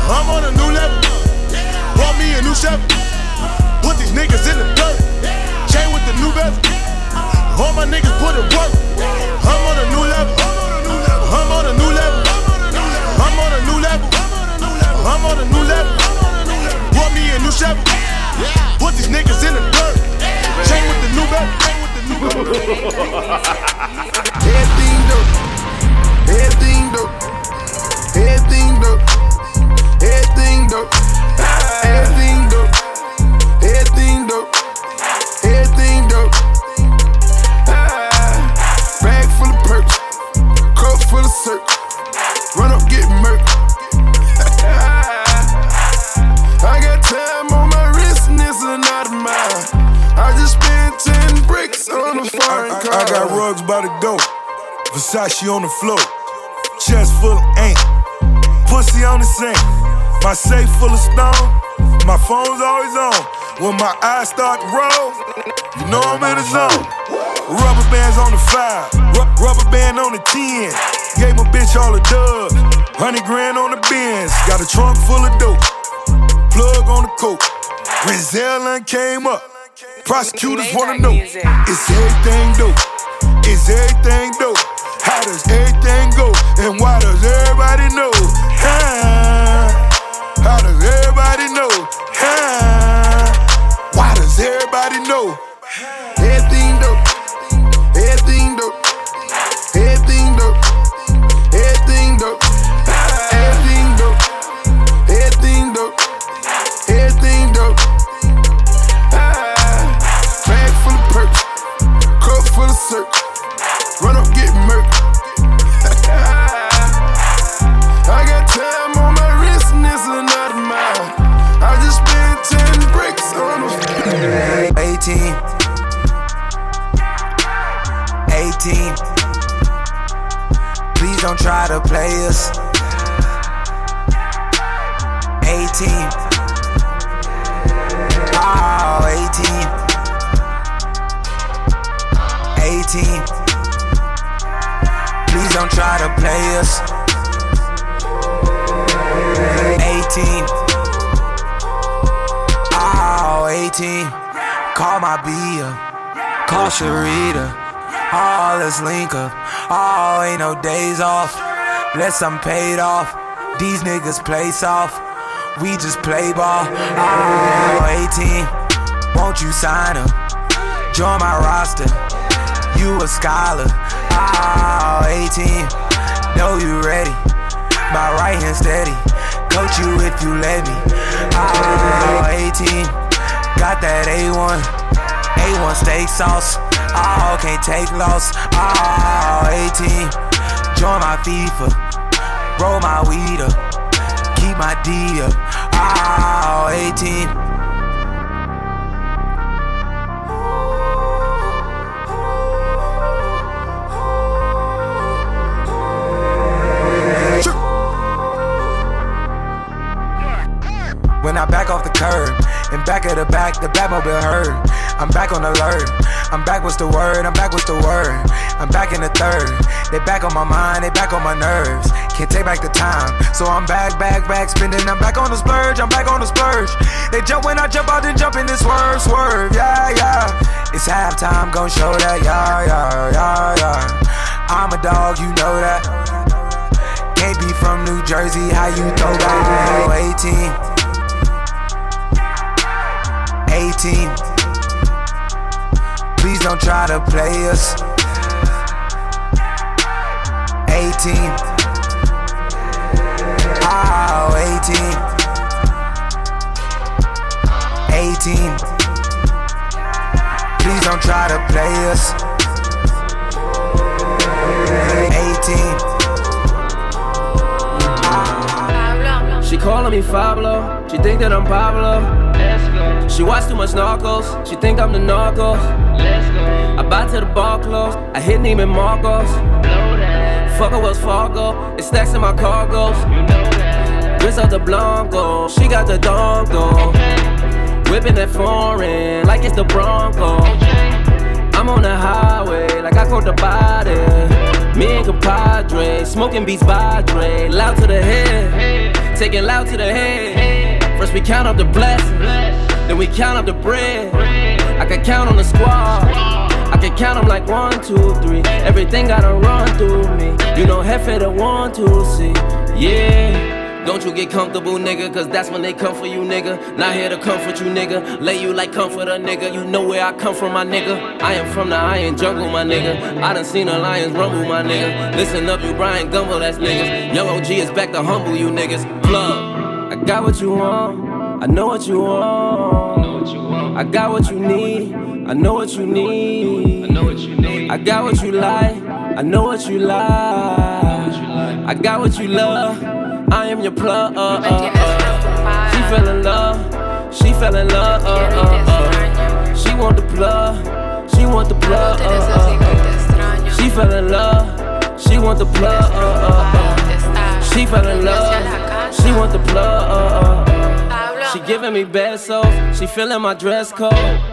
I'm on a new level. Bought me a new Chevy. Put these niggas in the dirt. Chain with the new bezel. All my niggas put in work. I'm on a new level. I'm on a new level. I'm on a new level. I'm on a new level. Bought me a new Chevy. Put these niggas in the dirt. Chain with the new bezel. Everything dope. Everything dope. Everything dope. Everything dope. Everything dope. Everything dope. Everything dope. Bag full of perks. Cup full of syrup. Run up, get murked. I got time on my wrist and it's another mile. I just spent 10 bricks on a foreign car. I got rugs by the go. Versace on the floor. Chest full of ink. Pussy on the sink. My safe full of stone. My phone's always on. When my eyes start to roll, you know I'm in the zone. Rubber bands on the 5. Rubber band on the 10. Gave my bitch all the dubs. 100 grand on the Benz. Got a trunk full of dope. Plug on the coke. Renzel and came up. Prosecutors wanna know, is everything dope? Is everything dope? How does everything go? And why does everybody know? How does everybody know? Why does everybody know? Everything dope. Everything dope. Everything dope. Everything dope. Everything dope. Everything dope. Everything dope. Bag full of perks. Cup full of syrup. Run up, get murked. I got time on my wrist and it's another mile. I just spent 10 bricks on a 18. 18. Please don't try to play us. 18. Oh, 18. 18. Please don't try to play us. 18. Oh, 18. Call my Bia. Call Sharita. Oh, let's link up. Oh, ain't no days off. Unless I'm paid off. These niggas play soft. We just play ball. Oh, 18. Won't you sign up? Join my roster. You a scholar. Oh, 18. Know you ready. My right hand steady. Coach you if you let me. Oh, 18. Got that A1. A1 steak sauce. Oh, can't take loss. Oh, 18. Join my FIFA. Roll my weed up. Keep my D up. Oh, 18. When I back off the curb, and back of the Batmobile heard. I'm back on alert. I'm back, what's the word? I'm back, what's the word? I'm back in the third. They back on my mind, they back on my nerves. Can't take back the time, so I'm back, spinning. I'm back on the splurge, I'm back on the splurge. They jump when I jump out, then jump in this swerve, yeah. It's halftime, gon' show that, yeah. I'm a dog, you know that. Can't be from New Jersey, how you throw back? 18. 18. Please don't try to play us. 18. Oh, 18. 18. Please don't try to play us. 18. She calling me Pablo. She think that I'm Pablo. Let's go. She watch too much Narcos. She think I'm the Narcos. Let's go. I buy to the bar clothes. I hit Neiman Marcos. Blow that. Fuck her Wells Fargo. It's stacks in my cargos. You know that. Wrist out the Blanco. She got the dongo. Okay. Whipping that foreign like it's the Bronco. Okay. I'm on the highway like I caught the body. Me and compadre, smoking beats by Dre. Loud to the head. taking loud to the head. First we count up the blessings, then we count up the bread. I can count on the squad, I can count them like 1, 2, 3. Everything gotta run through me. You know, Hefe the 1, 2, see. Yeah. Don't you get comfortable, nigga, cause that's when they come for you, nigga. Not here to comfort you, nigga. Lay you like comforter, nigga. You know where I come from, my nigga. I am from the iron jungle, my nigga. I done seen the lions rumble, my nigga. Listen up, you Brian Gumble, that's niggas. Young OG is back to humble you, niggas. Plug, I got what you want. I know what you want. I got what you need. I know what you need. I got what you like. I know what you like. I got what you love. I am your plug. She fell in love. She fell in love. She want the plug. She want the plug. She fell in love. She want the plug. She fell in love. She want the plug. She giving me besos. She feeling my dress code.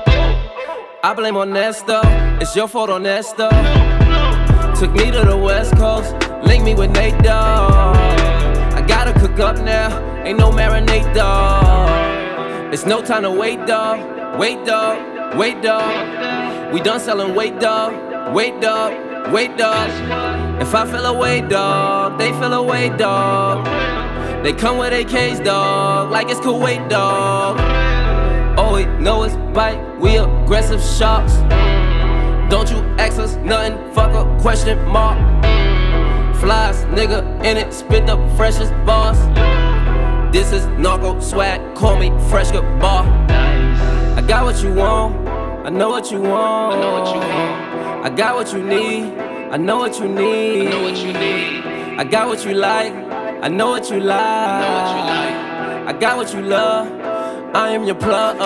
I blame on Nesta. It's your fault on Nesta. Took me to the West Coast. Link me with Nate Dogg. I gotta cook up now, ain't no marinade, dawg. It's no time to wait, dawg. Wait, dawg. Wait, dawg. We done selling weight, dawg. Wait, dawg. Wait, dawg. If I feel away, dawg, they feel away, dawg. They come with AKs, dawg, like it's Kuwait, dawg. All we know is bite, we aggressive sharks. Don't you ask us nothing, fuck a question mark. Flies, nigga, in it, spit the freshest bars. This is narco swag, call me fresh good bar. I got what you want, I know what you want. I got what you need, I know what you need. I got what you like, I know what you like. I got what you love, I am your plug.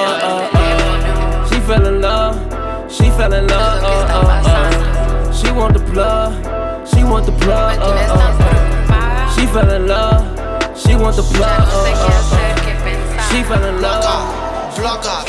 She fell in love, she fell in love. She want the plug. She want the plug, She fell in love. She want the plug, She fell in love. Bloca.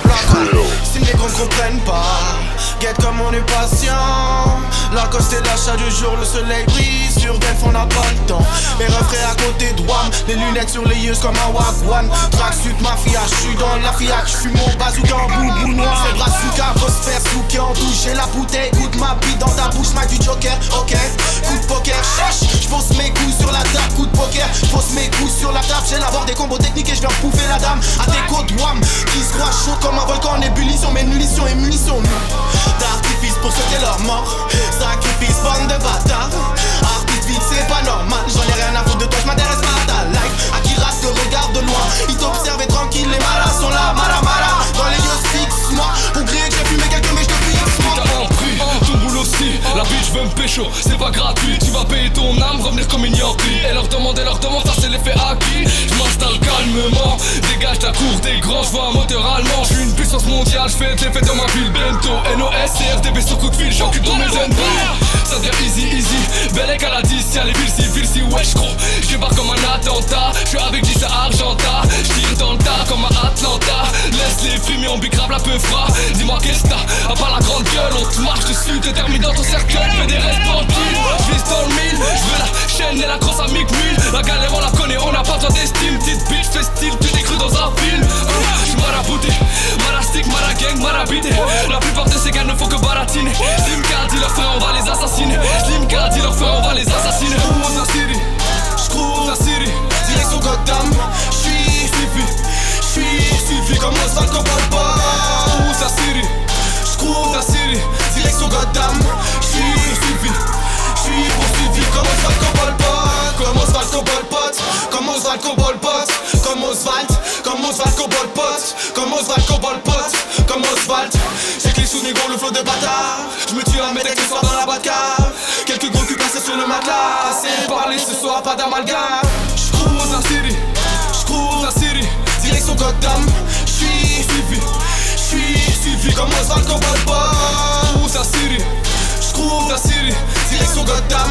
Si les grands comprennent pas, guette comme on est patient. Lacoste est l'achat du jour, le soleil brille sur Delph, on n'a pas le temps. Les refrains à côté de WAM, les lunettes sur les yeux comme un wagwan. Tracksuit mafia, j'suis dans la fiac, j'fume mon bazooka en boubou noir. C'est brazuka, phosphère, souké en douche. J'ai la bouteille, goûte ma bite dans ta bouche, Mike du Joker, ok. Coup de poker, j'pose mes coups sur la table, coup de poker. J'pose mes coups sur la table, j'ai l'abord des combos techniques et j'viens bouffer la dame. À des côtes WAM, qui se croit chaud comme un volcan en ébullition. Mais munitions et munitions, nous. D'artifice pour sauter leur mort. Sacrifice, bande de bâtards. Artiste vite, c'est pas normal. J'en ai rien à foutre de toi, j'm'intéresse pas à ta life. À qui rate te regarde de loin. Ils t'observent et tranquille, les malas sont là. Mala. Dans les yeux fixe-moi. Pour griller que j'ai fumé quelques mèches de fixe-moi. T'as un prix, ton boulot aussi. La bitch veut me pécho, c'est pas gratuit. Tu vas payer ton âme, revenir comme une yankee. Et leur demander, ça c'est l'effet acquis. J'm'installe calmement, dégage ta cour des grands. J'vois un moteur allemand, j'suis une puissance mondiale. J'fais des fêtes dans ma ville, bento. NOS, CRDB sur coup de fil, j'occupe tous mes ennemis. Ça devient easy. Bellec à la 10, y'a les villes si wesh gros. J'débarque comme un attentat, j'suis avec 10 à Argenta. J'tire dans le tas comme à Atlanta. Laisse les frimes, on bicrave la peu froid. Dis-moi qu'est-ce que t'as, à part la grande gueule. On te marche dessus, t'es terminé dans ton cercueil. Fais des restes tranquilles, j'vise dans le mille. J'veux la chaîne et la grosse amique mule. La galère on la connaît, on n'a pas besoin d'estime. Petite bitch, fais style, tu t'es cru dans un film. J'suis marabouté, marastique, maragang, marabité. La plupart de ces gars ne font que baratiner. Slim Card, dis leur frère, on va les assassiner. Slim Card, dis leur frère, on va les assassiner. J'crouse la Syrie, j'crouse la Syrie. Direction Gotham, j'suis poursuivi comme Oswald Cobalba. J'crouse la Syrie, j'crouse la Syrie. Direction Gotham, j'suis poursuivi comme Oswald Cobalba. Comme Oswald Cobalpot, comme Oswald Cobalpot, comme Oswald Cobalpot, comme Oswald Cobalpot, comme Oswald. J'ai que les sous négro, le flot de bâtard. J'me tue un mec avec le soir dans la Batcave. Quelques gros culs passés sur le matelas. C'est parler ce soir, pas d'amalgame. J'crouse la Syrie, j'crouse la Syrie. Direction Gotham, j'suis suivi comme Oswald Cobalpot. J'crouse la Syrie, j'crouse la Syrie. Direction Gotham,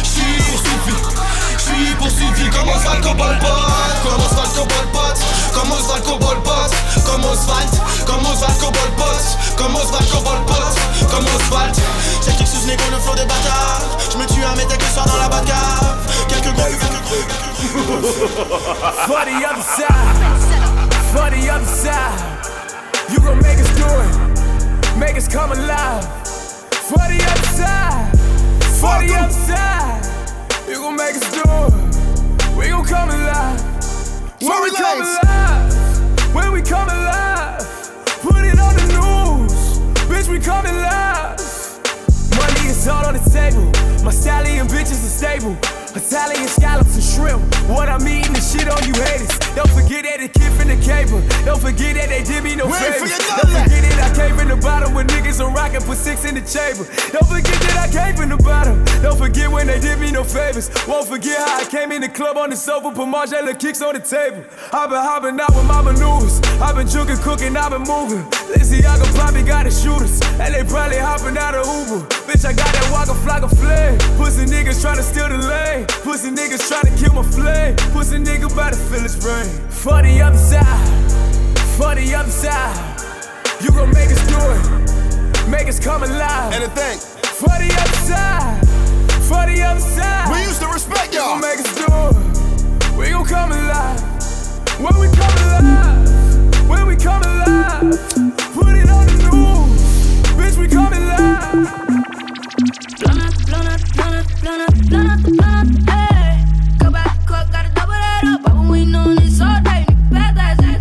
j'suis poursuivi comme Oswald Cobalpot. Comme Oswald Cobalpot, comme Oswald Cobalpot, comme Oswald Cobalpot, comme Oswald Cobalpot, comme Oswald. J'ai kick sous négro, le flot de bâtard. J'me tue un mec avec le soir dans la Batcave. Quelques gros. For the other side, for the other side. You gon' make us do it, make us come alive. For the other side, for the other side. You gon' make us do it, we gon' come alive. When we come alive, when we come alive. Put it on the news, bitch, we coming live. Money is all on the table, my stallion bitches are stable. Italian scallops and shrimp, what I'm eating is shit on you haters. Don't forget that it kid from the cable. Don't forget that they did me no favors. Don't forget that I came from the bottom when niggas are rocking, put 6 in the chamber. Don't forget that I came from the bottom. Don't forget when they did me no favors. Won't forget how I came in the club on the sofa, put Margiela kicks on the table. I've been hopping out with my maneuvers. I've been juking, cooking, I've been moving. Lizzie, I probably got the shooters, and they probably hopping out of Uber. Bitch, I got that Waka Flocka flame. Pussy niggas trying to steal the lane. Pussy niggas tryna kill my flame. Pussy nigga bout to feel his brain. For the other side, for the other side. You gon' make us do it, make us come alive. Anything. For the other side, for the other side. We used to respect y'all. You gon' make us do it, we gon' come alive. When we come alive, when we come alive. Put it on the news, bitch, we come alive. Blown up, blown up, blown up, blown up, blown up, blown up, hey. Go back to court, gotta double that up. I've been waiting on this all day, nigga, bad that shit.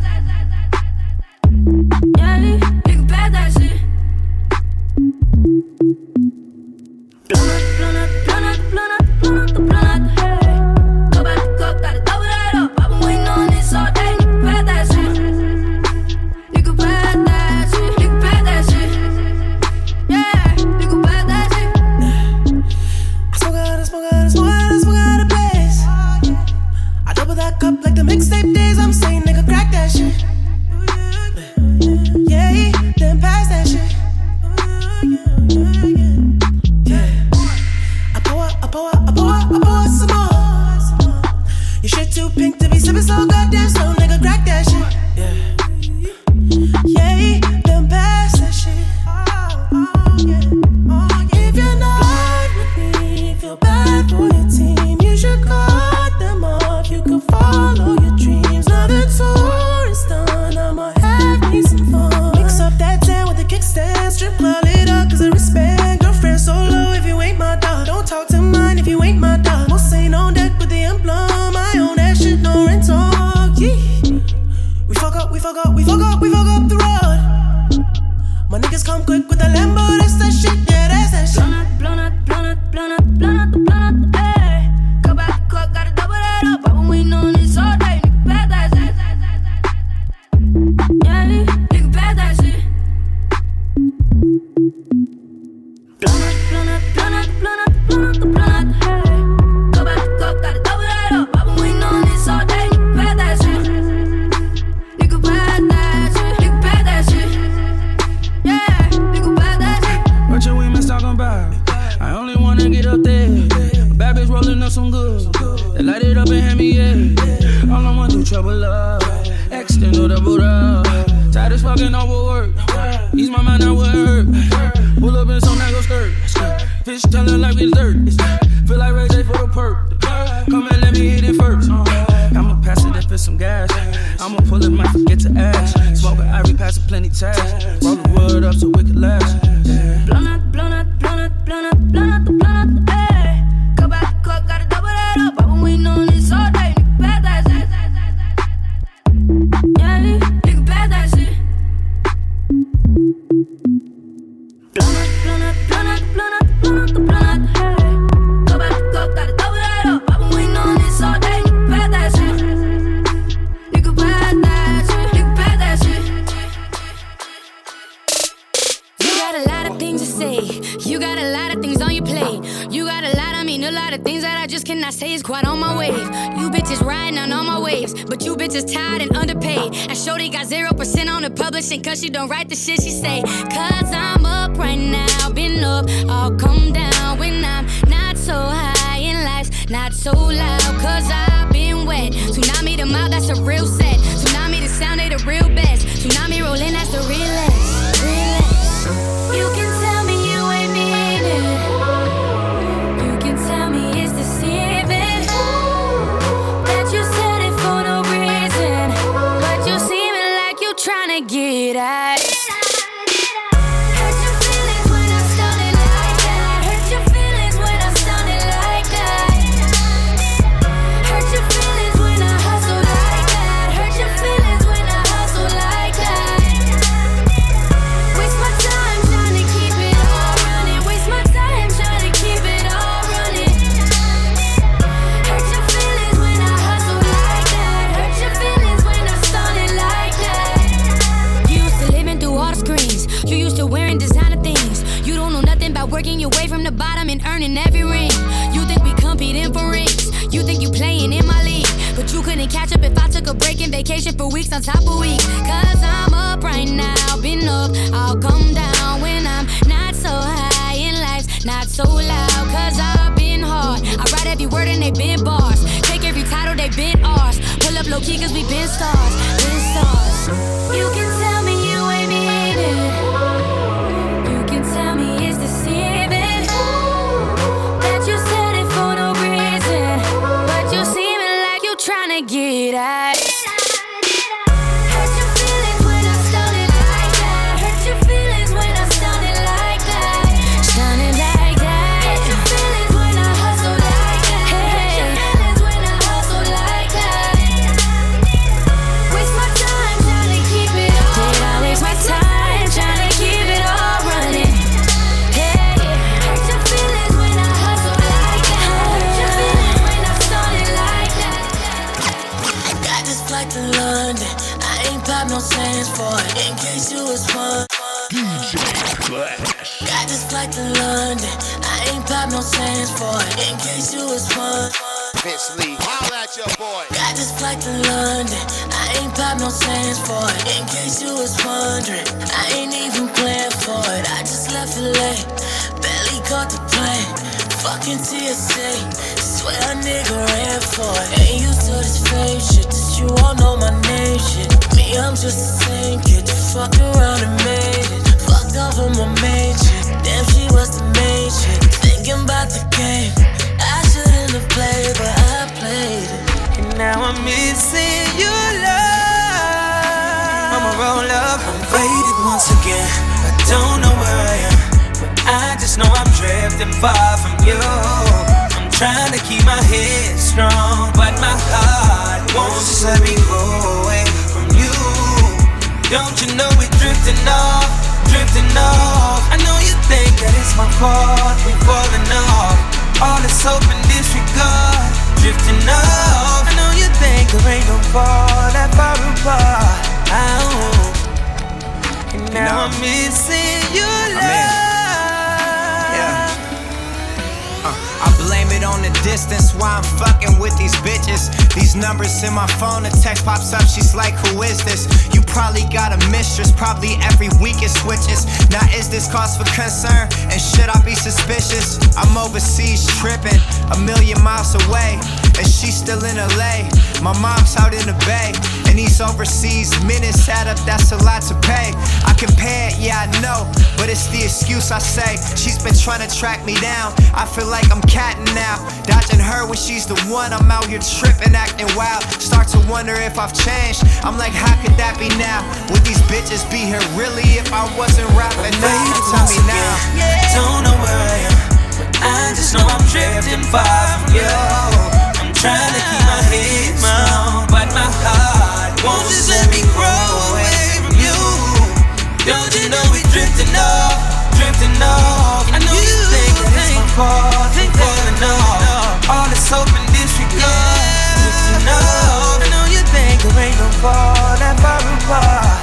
Yeah, nigga, bad that shit. Blown up, blown up, blown up, blown up, blown up, blown up, hey. Go back to court, gotta double that up. I've been waiting on this all day, nigga, bad that shit. Nigga, bad that shit, nigga, bad that shit. Yeah, nigga, bad that shit. I double that cup like the mixtape days. I'm saying, nigga, crack that shit. Yeah, then pass that shit. Yeah. I pour some more. Your shit too pink to be sipping so goddamn slow, nigga, crack that shit. Yeah, then pass that shit. If you're not with me, feel bad for your team. You should cut them off. You can follow your dreams. Now the tour is done. I'ma have me some fun. Mix up that 10 with the kickstand. Strip club lit up 'cause I respect. Girlfriend solo if you ain't my dog. Don't talk to mine if you ain't my dog. Most ain't on deck with the emblem. I own that shit, no rental. Yeah. We fuck up the road. My niggas come quick with the Lambo. That's that shit, yeah, that's that shit. Blown up, blown up, blown up, blown up, blown up, blown up, hey. Go back to court, gotta double that up. I've been waiting on this all day, nigga, bad that shit. Yeah, nigga, bad that shit. Blown up, blown up, blown up, blown up, blown up, blown up, hey. Go back to court, gotta double that up. I've been waiting on this all day, nigga, bad that shit. Nigga, bad that shit, nigga, bad that shit. Yeah, nigga, bad that shit. What your women talking about? I only wanna get up there. A bad bitch rolling up some good. They light it up and hand me, yeah. All I want do trouble love. Extend or double up. Tired as fucking overwork. Ease my mind, now what hurt. Pull up in some that go skirt. Fish telling like we dirt. Feel like Ray J for the perk. Come and let me hit it first. I'ma pass it if it's some gas. I'ma pull it, might forget to ask. Smoke an Ivory, pass it plenty tags. Roll the wood up so we can last. Blown up, blown up, blown up, blown up, blown up, blown up, hey. Go back to court, gotta double that up. I've been waiting on this all day, nigga, bad that shit. Yeah, nigga, bad that shit. Blown up, blown up, blown up, blown up, blown up, blown up, hey. Go back to court, gotta double that up. I've been waiting on this all day, nigga, bad that shit. Nigga, bad that shit, nigga, bad that shit. You got a lot of things to say. You got a lot of things on your plate. You got a lot, I mean a lot of things that I just cannot say is quite on my wave. You bitches riding on all my waves, but you bitches tired and underpaid. And Shorty got 0% on the publishing, 'cause she don't write the shit she say. 'Cause I'm up right now, been up, I'll come down when I'm not so high in life, not so loud, 'cause I've been wet. Tsunami the mouth, that's a real set. Tsunami the sound, they the real best. Tsunami rolling, that's the realest, realest. You can tell me you ain't mean it. You can tell me it's deceiving that you said it for no every ring. You think we competing for rings? You think you playing in my league? But you couldn't catch up if I took a break and vacation for weeks on top of weeks. Cause I'm up right now, been up, I'll come down when I'm not so high and life's not so loud. Cause I've been hard, I write every word and they been bars. Take every title, they been ours. Pull up low key cause we been stars, been stars. You can tell me you ain't mean it. You can tell me it's deceiving that you said it for no reason, but you seeming like you tryna get at it. Hurt your feelings when I started like that. Hurt your feelings when I started like that. Started like that. Hurt your feelings when I hustle like that. Hurt your feelings when I hustle like that. Waste my time trying to keep it all. Did I waste my time trying to keep it all running? Hey, hurt your feelings when I hustle like that. Hurt your feelings when I started like that. I got this flight to London. I ain't pop no sands for it. In case you was fun. Got this flight to London. I ain't pop no sands for it. In case you was fun. Vince Lee, holla at your boy. Got this flight to London. I ain't pop no sands for it. In case you was wondering, I ain't even planned for it. I just left it late. Barely caught the plane. Fucking TSA. Swear a nigga ran for it. Ain't used to this fame shit. That you all know my name shit. Me, I'm just the same kid. You fucked around and made it. Fucked off on my main shit. Damn, she was the main shit. Thinking about the game. I shouldn't have played, but I played it. And now I'm missing your love. I'ma roll up. I'm faded once again. I don't know where I am, but I just know I'm drifting far from you. I'm trying to keep my head strong, but my heart won't just let me go away from you. Don't you know we're drifting off, drifting off. I know you think that it's my fault, we're falling off. All this hope and disregard, drifting off. I know you think there ain't no fall that far apart. And now I'm missing your love. I blame it on the distance, why I'm fucking with these bitches. These numbers in my phone, a text pops up, she's like, who is this? You probably got a mistress, probably every week it switches. Now is this cause for concern, and should I be suspicious? I'm overseas tripping, a million miles away, and she's still in LA. My mom's out in the Bay, and these overseas minutes add up, that's a lot to pay. I compare it, yeah I know, but it's the excuse I say. She's been trying to track me down, I feel like I'm catting now, dodging her when she's the one. I'm out here tripping, acting wild. Start to wonder if I've changed. I'm like, how could that be now? Would these bitches be here really if I wasn't rapping now? Tell me now. Don't know where I am, but I just know I'm drifting far from you. I'm trying to keep my head strong, but my heart won't just let me grow away from you. Don't you know we're drifting off, drifting off. I know you think that it's my fault, think falling off. All this hope and disregard, drifting off. I know you think there ain't no fall that far apart.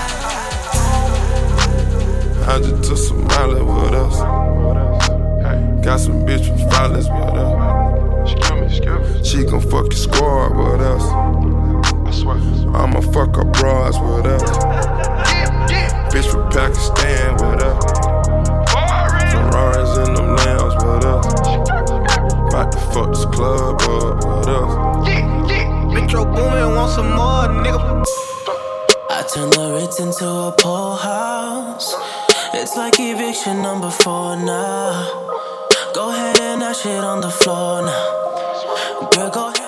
I just took some Miley with us. Got some bitch from Violence with us. She gon' fuck your squad with us. I'ma fuck her bras with us. Bitch from Pakistan with us. Ferraris in them lambs with us. About to fuck this club up with us. Metro Boomin want some more, nigga. I turn the Ritz into a pool house. It's like eviction number 4 now. Go ahead and dash it on the floor now. Girl, go ahead.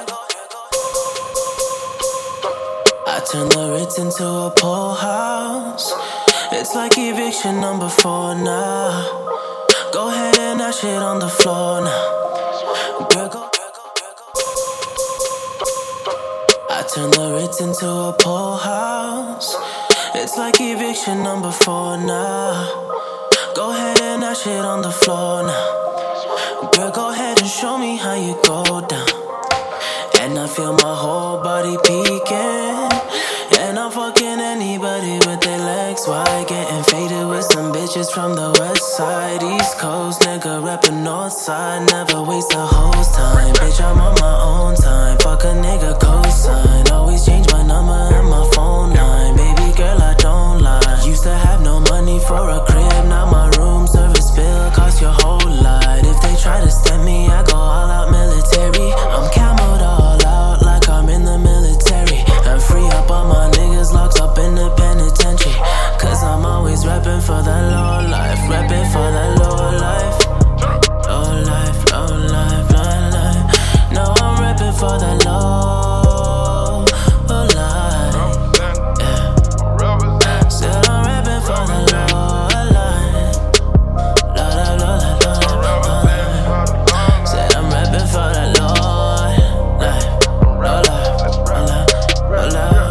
I turn the Ritz into a pool house. It's like eviction number 4 now. Go ahead and dash it on the floor now. Girl, go. I turn the Ritz into a pool house. It's like eviction number 4 now. Go ahead and dash it on the floor now. Girl, go ahead and show me how you go down. And I feel my whole body peeking. And I'm fucking anybody with their legs wide. Getting faded with some bitches from the west side, East Coast nigga rapping north side. Never waste a host time, bitch, I'm on my own time. Fuck a nigga cosign, always change my number and my phone line. Baby girl, I don't lie. Used to have no money for a crib, now my room service bill cost your whole lot. If they try to stem me, I go all out military. I'm camoed all out like I'm in the military. And free up all my niggas locked up in the penitentiary. Cause I'm always rapping for the low life, rapping for the low life. Low life, low life, low life. No, I'm rapping for the low life. Yeah. Said I'm rapping for the low life. Low life, low life. Said I'm rapping for the low life. Low life, low life, low life.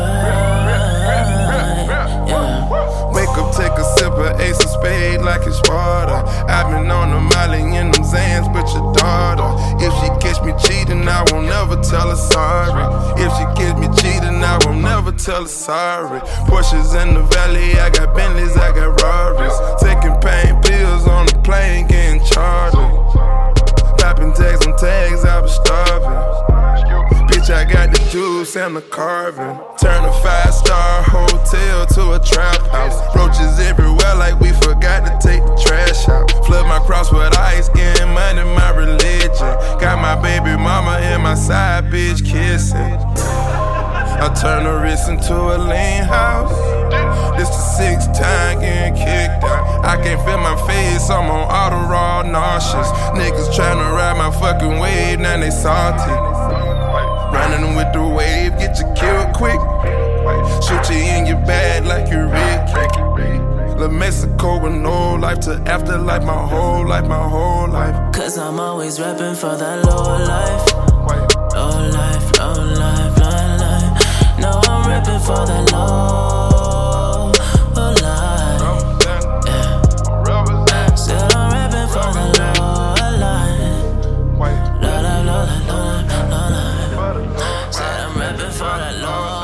Take a sip of Ace of Spade like it's water. I've been on the Molly in them Zans, but your daughter. If she catch me cheating, I won't never tell her sorry. If she catch me cheating, I won't never tell her sorry. Porsches in the valley, I got Bentleys, I got Rarries. Taking pain pills on the plane, getting chartered. Popping tags on tags, I was starving. Bitch, I got the juice and the carving. Turn a 5-star hotel to a trap house. Roaches everywhere like we forgot to take the trash out. Flood my cross with ice, getting money, my religion. Got my baby mama and my side bitch kissing. I turn a wrist into a lean house. This the 6th time getting kicked out. I can't feel my face, I'm on auto raw nauseous. Niggas tryna ride my fucking wave, now they salty. Running with the wave, get you killed quick. Shoot you in your bag like you're Rick. La Mexico with no life to afterlife, my whole life, my whole life. Cause I'm always rapping for that low life. Low life, low life, low life. No, I'm rapping for that low life. Yeah. Said I'm rapping for the low life. Low life, low life, low life, low life. Said I'm rapping for that low life.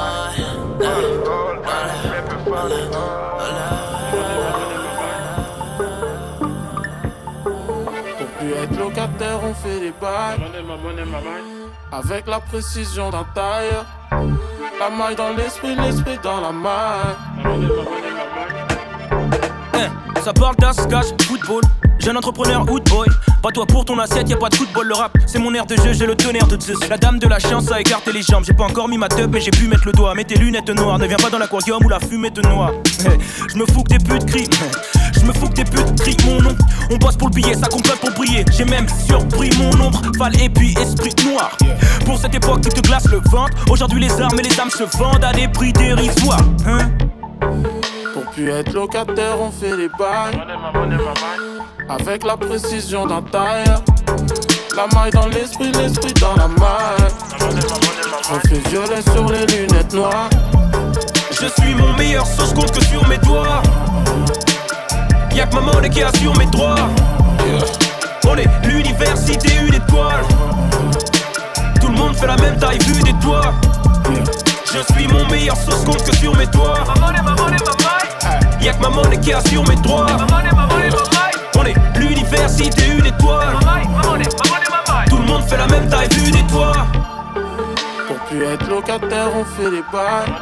Pour plus être locataire, on fait des bails. Avec la précision d'un tailleur. La maille dans l'esprit dans la maille. Ça parle d'ascache, football. Jeune entrepreneur, hood boy. Pas toi pour ton assiette, y'a pas de football. Le rap, c'est mon air de jeu, j'ai le tonnerre de Zeus. La dame de la chance a écarté les jambes. J'ai pas encore mis ma teub, mais j'ai pu mettre le doigt. Mets tes lunettes noires, ne viens pas dans l'aquarium où la fumée te noie. Je me fous que des putes crient. Je me fous que des putes crient mon nom. On bosse pour le billet, ça complote pour briller. J'ai même surpris mon ombre, Val et puis esprit noir. Pour cette époque qui te glace le ventre. Aujourd'hui les armes et les âmes se vendent à des prix dérisoires. Pour plus être locataire, on fait des bails. Avec la précision d'un tailleur. La maille dans l'esprit dans la maille. On fait violet sur les lunettes noires. Je suis mon meilleur sauce compte que sur mes doigts. Y'a que ma monnaie qui assure mes droits. On est l'université, une étoile. Tout le monde fait la même taille vue des toits. Je suis mon meilleur sauce compte que sur mes doigts. Y'a que ma monnaie qui assure mes droits. On est l'université, une étoile. Tout le monde fait la même taille vue des toits. Pour plus être locataire, on fait des bails.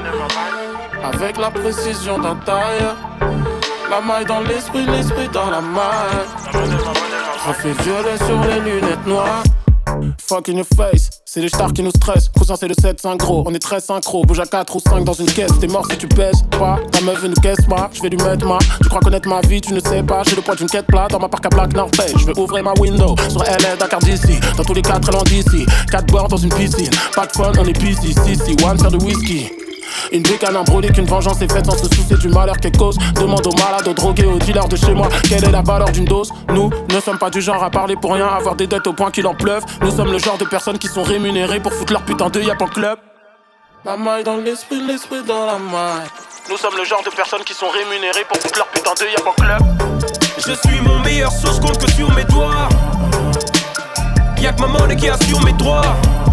Avec la précision d'un tailleur. La maille dans l'esprit dans la maille. On fait violet sur les lunettes noires. Fuck in your face, c'est les stars qui nous stressent. Cousin c'est le 7-5 gros, on est très synchro. Bouge à 4 ou 5 dans une caisse, t'es mort si tu pèses pas. Ta meuf veut nous caisse pas, je vais lui mettre ma. Tu crois connaître ma vie, tu ne sais pas. J'ai le poids d'une quête plate dans ma parc à Black Norpay. Je vais ouvrir ma window sur LA, Dakar d'ici. Dans tous les cas très loin d'ici. 4 bords dans une piscine, pas de fun, on est busy. Si, one faire de whisky. Une bécane brûlée qu'une vengeance est faite sans se soucier du malheur qu'elle cause. Demande aux malades, aux drogués, aux dealers de chez moi quelle est la valeur d'une dose. Nous ne sommes pas du genre à parler pour rien, avoir des dettes au point qu'il en pleuve. Nous sommes le genre de personnes qui sont rémunérées pour foutre leur putain de yap en club. La maille dans l'esprit dans la maille. Nous sommes le genre de personnes qui sont rémunérées pour foutre leur putain de yap en club. Je suis mon meilleur sauce compte que sur mes doigts. Y'a que ma monnaie qui assure mes droits.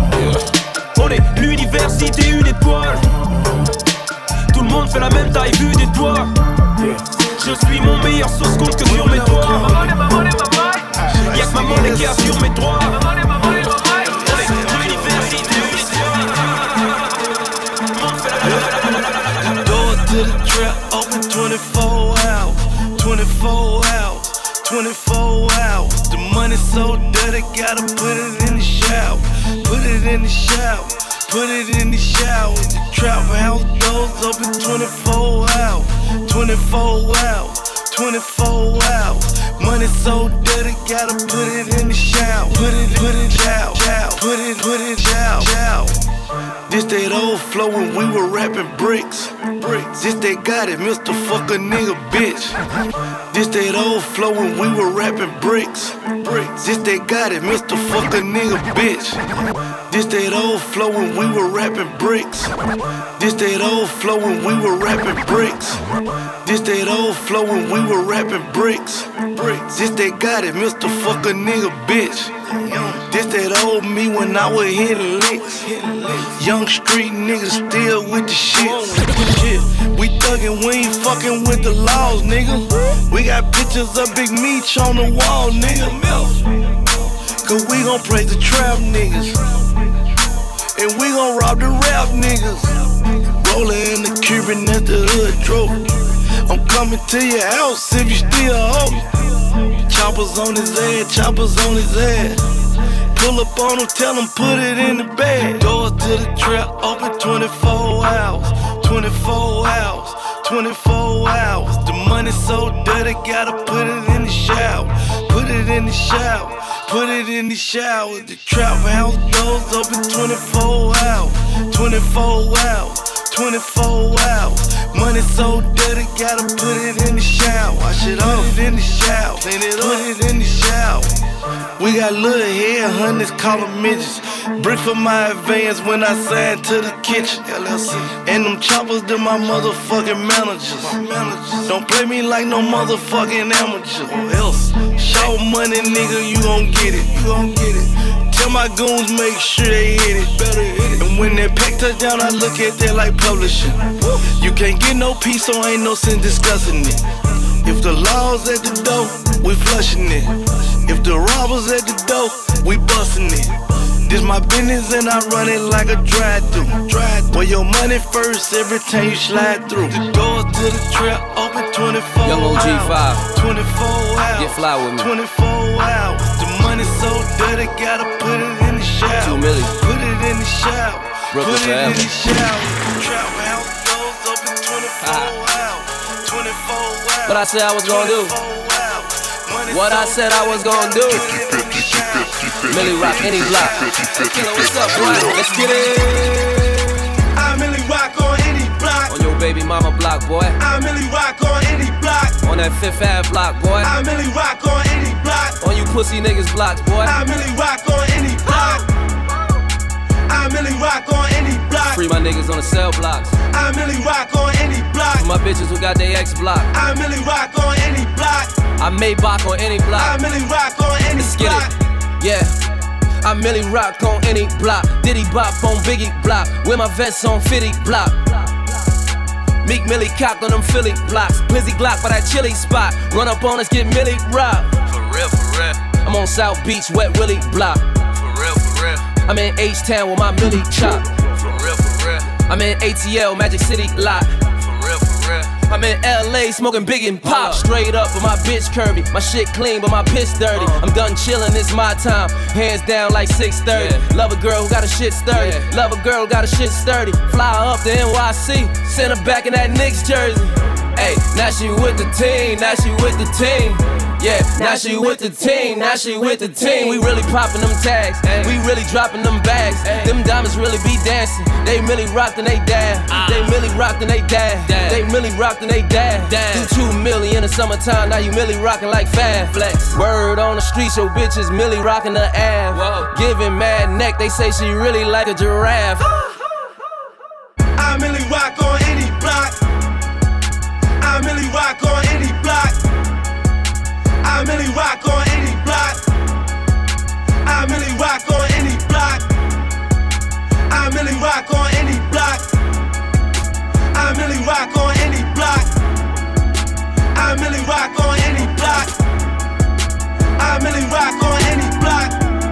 On est l'université, une étoile. Tout le monde fait la même taille vue des toits. Je suis mon meilleur sauce compte que sur mes doigts. Y'a que ma monnaie qui assure mes droits. Door to the trap, open 24 hours, 24 hours, 24 hours. The money so dirty, gotta put it in the shower, put it in the shower, put it in the shower. The trap house doors open 24 hours, 24 hours, 24 hours. Money so dirty, gotta put it in the shower, put it shower, put it shower. This that old flow when we were rapping bricks. This that got it, Mr. Fuck a nigga bitch. This that old flow when we were rapping bricks. This that got it, Mr. Fuck a nigga bitch. This that old flow when we were rapping bricks. This that old flow when we were rapping bricks. This that old flow when we were rapping bricks. This that got it, Mr. Fuck a nigga bitch. This that old me when I was hitting licks. Young street niggas still with the shit. We thuggin', we ain't fucking with the laws, nigga. We got pictures of Big Meech on the wall, nigga. Cause we gon' praise the trap niggas. And we gon' rob the rap niggas. Rollin' in the Cuban at the hood drove. I'm coming to your house if you still hoe. Choppers on his head, choppers on his head. Pull up on him, tell him put it in the bag. Doors to the trap open 24 hours, 24 hours, 24 hours. The money so dirty, gotta put it in the shower, put it in the shower, put it in the shower. The trap house doors open 24 hours, 24 hours, 24 hours. Money so dirty, gotta put it in the shower. Wash it off, put it in the shower, clean it up, put it in the shower. We got little head hunters, call them midgets. Brick for my advance when I signed to the kitchen. LLC. And them choppers, they're my motherfucking managers. Don't play me like no motherfucking amateur. Or else, show money, nigga, you gon' get it. You gon' get it. Tell my goons, make sure they hit it. Better hit it. And when that pack touchdown, I look at that like publishing. You can't get no peace, so ain't no sense discussing it. If the law's at the door, we flushing it. If the robbers at the door, we bustin' it. This my business and I run it like a drive-thru. Where your money first, every time you slide through. The doors to the trap open 24 Young OG hours. 5. 24 hours. Get fly with me. 24 hours. The money so dirty, gotta put it in the shower. 2 million. Put it in the shower. Brooklyn put it forever. in the shower. Trap house doors open 24 hours. 24 hours. What I said I was gonna do. What I said I was gonna do. Millie Rock, any block. Hey, killer, what's up, boy? Let's get it. I Millie Rock on any block. On your baby mama block, boy. I Millie Rock on any block. On that Fifth Ave block, boy. I Millie Rock on any block. On you pussy niggas blocks, boy. I Millie Rock on any block. I Millie Rock on any block. Free my niggas on the cell blocks. I Millie Rock on any block. For my bitches who got their ex block. I Millie Rock on any block. I Maybach on any block. I Millie Rock on any Let's get block. it. Yeah. I Millie Rock on any block. Diddy Bop on Biggie block. With my vest on Fitty block. Meek Millie cocked on them Philly blocks. Blizzy Glock by that chili spot. Run up on us, get Millie Rock. For real, for real. I'm on South Beach, Wet Willie block. For real, for real. I'm in H-Town with my Millie chop. For real, for real. I'm in ATL, Magic City lot. For real, for real. I'm in LA smoking big and pop. Straight up with my bitch curvy. My shit clean, but my piss dirty. I'm done chillin', it's my time. Hands down like 6:30. Yeah. Love a girl who got a shit sturdy. Yeah. Love a girl who got a shit sturdy. Fly her up to NYC. Send her back in that Knicks jersey. Hey, now she with the team. Now she with the team. Yeah, now she with the team, now she with the team. We really poppin' them tags, we really droppin' them bags. Them diamonds really be dancing. They really rocked and they dab. They really rocked and they dab. They really rocked and they dab. Do 2 million in the summertime, now you really rockin' like Fab Flex. Word on the streets, your bitches Millie rockin' the Av. Giving mad neck, they say she really like a giraffe. I Millie Rock on any block. I Millie Rock on any block. I Millie Rock on any block. I Millie Rock on any block. I Millie Rock on any block. I Millie Rock on any block. I really rock on any block. I really rock on any block.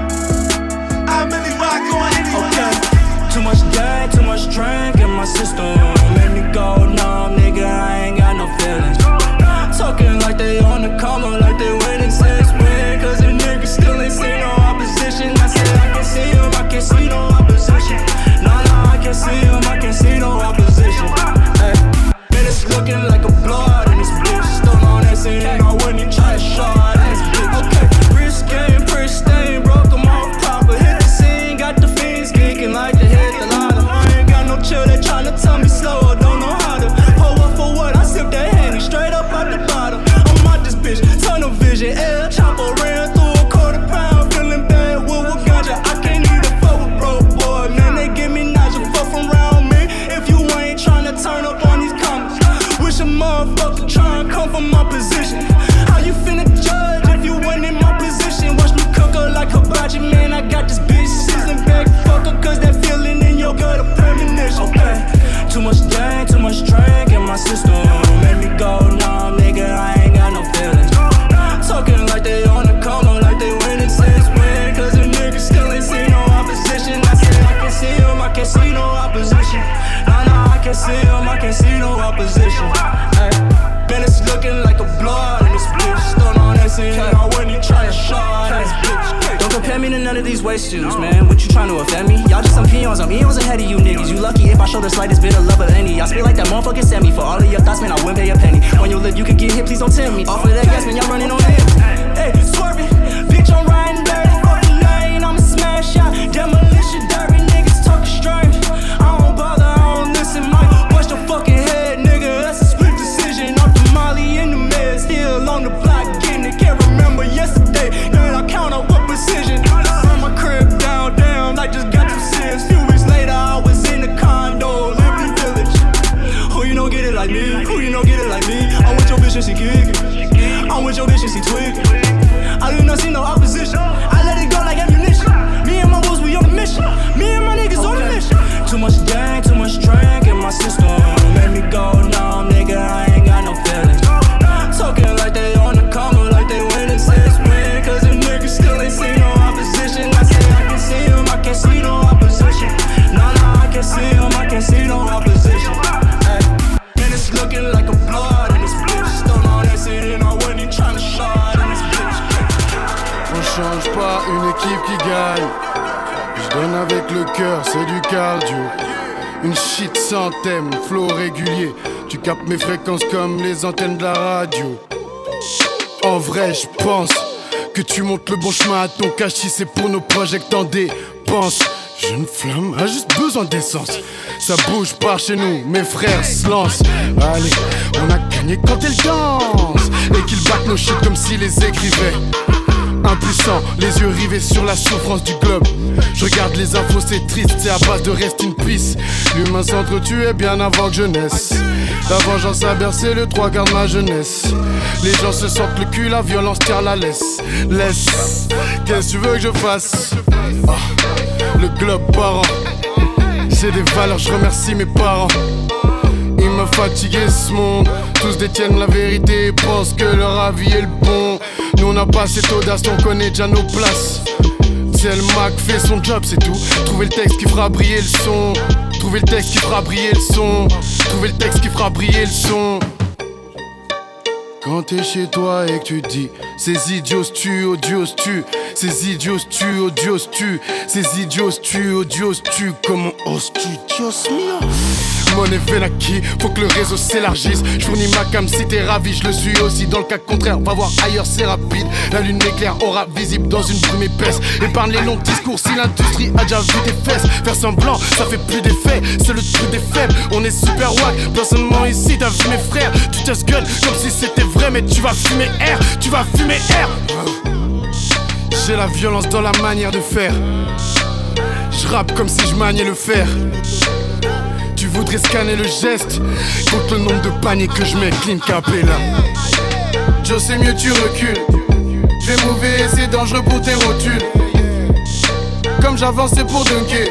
I really rock on any block. Too much gang, too much drink in my system. Made me go numb, nigga, I ain't got no feelings. Talking like they on the coma, like they waiting since when. Cause the niggas still ain't seen no opposition. I said I can see him, I can't see no opposition. Nah, I can't see him, I can't see no opposition. Hey, man, it's looking like a blowout in this bitch. Still on that scene, and I wouldn't even try to shot in this bitch. Okay, wrist game, pristine, broke them off proper. Hit the scene, got the fiends geeking like they hit the lotto. I ain't got no chill, they tryna tell me slow, don't know how to. Hold up for what? I sip that Henny straight up out the bottom. I'm out this bitch, tunnel vision, air chopper ran through a quarter pound, feeling bad with ganja. I can't even fuck with broke boy, man. They give me nausea, fuck from around me. If you ain't tryna turn up on these comments, wish a motherfucker try and come from my position. How you finna judge if you ain't in my position? Watch me cook her like hibachi, man. I got this bitch seasoned back, fuck her, cause that feeling in your gut a premonition. Okay, too much gang, too much drink in my system. Made me go numb, nigga, I ain't got no feelings. Talking like they on the coma, like they winning since when. Cause the niggas still ain't seen no opposition. I said I can see him, I can't see no opposition. Nah, I can't see him, I can't see no opposition. Hey, man, it's looking like a blowout in this bitch. Still on that scene, and I wouldn't even try to shot in this bitch. Don't compare me to none of these waste shoes, man. What you trying to offend me? Y'all just some peons, I'm eons ahead of you niggas. You lucky if I show the slightest bit of love or any. I spit like that motherfucker sent me. For all of your thoughts, man, I wouldn't pay a penny. On your lip, you could get hit, please don't tempt me. Off of that gas, man, y'all running on him. Hey, swerving, bitch, I'm riding dirty. Fucking lane, I'ma smash out. Demolition, dirty niggas talking strange. I don't bother, I don't listen, Mike. Watch the fucking head, nigga. That's a split decision. Off the Molly in the meds, still on the block, getting it. Can't remember yesterday, then I count on what precision. From my crib down, I just got 2 cents. Few weeks later, I was in the condo, Liberty Village. Who you know get it like me? Who you know get it like me? I'm with your bitch and she kickin'. I'm with your bitch and she twiggin'. I do not see no opposition. I let it go like ammunition. Me and my wolves, we on a mission. Me and my niggas on a mission. Too much gang, too much drink in my system. Made me go numb, nigga, I ain't got no feelings. Talking like they on the coma, like they winning since when. Cause the niggas still ain't seen no opposition. I say I can see him, I can't see no opposition. Nah, I can't see him, I can't see no opposition. Hey, man, it's looking like a blowout in this bitch. Still on that shit and I wasn't even tryna shot in this bitch. On change pas une équipe qui gagne. Je donne avec le cœur, c'est du cardio. Une shit sans thème, flow régulier. Tu captes mes fréquences comme les antennes de la radio. En vrai, je pense que tu montes le bon chemin à ton cachis. C'est pour nos projets que t'en dépenses. Jeune flamme a juste besoin d'essence. Ça bouge par chez nous, mes frères se lancent. Allez, on a gagné quand elle danse. Et qu'ils battent nos shit comme s'ils les écrivaient. Impuissant, les yeux rivés sur la souffrance du globe. Je regarde les infos, c'est triste, c'est à base de rest in peace. L'humain s'entretuait bien avant que je naisse. La vengeance a bercé le 3/4 de ma jeunesse. Les gens se sentent le cul, la violence tire la laisse. Laisse, qu'est-ce que tu veux que je fasse? Oh, le globe parent. J'ai des valeurs, je remercie mes parents. Ils me fatiguent ce monde. Tous détiennent la vérité et pensent que leur avis est le bon. Nous on a pas cette audace, on connaît déjà nos places. C'est le Mac fait son job, c'est tout. Trouver le texte qui fera briller le son. Trouver le texte qui fera briller le son. Trouver le texte qui fera briller le son. Quand t'es chez toi et que tu te dis ces idiots se tuent, odieux se tuent. Ces idiots se tuent, odieux se tuent. Ces idiots se tuent, odieux se tuent. Comment oses-tu, Dios mio? Monnaie Venaki, faut que le réseau s'élargisse. Je fournis ma cam si t'es ravi, je le suis aussi. Dans le cas contraire, va voir ailleurs, c'est rapide. La lune éclaire, aura visible dans une brume épaisse. Épargne les longs discours si l'industrie a déjà vu tes fesses. Faire semblant, ça fait plus d'effet, c'est le truc des faibles. On est super wack, personnellement ici, t'as vu mes frères. Tu te gueule comme si c'était vrai, mais tu vas fumer air, tu vas fumer air. J'ai la violence dans la manière de faire. Je rappe comme si je maniais le fer. Tu voudrais scanner le geste contre le nombre de paniers que je mets, clean capella. Joe c'est mieux tu recules. Je vais mouver, c'est dangereux pour tes rotules. Comme j'avance c'est pour dunker.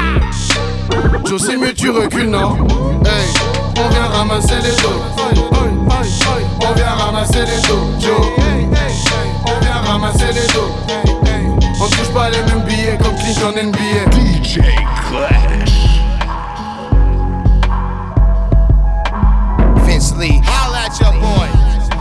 Joe c'est mieux tu recules non. Hey, on vient ramasser les dos. On vient ramasser les dojos. On vient ramasser les dos. On touche pas les mêmes billets comme Clinton NBA. DJ Clash. Vince Lee. Holla at your boy.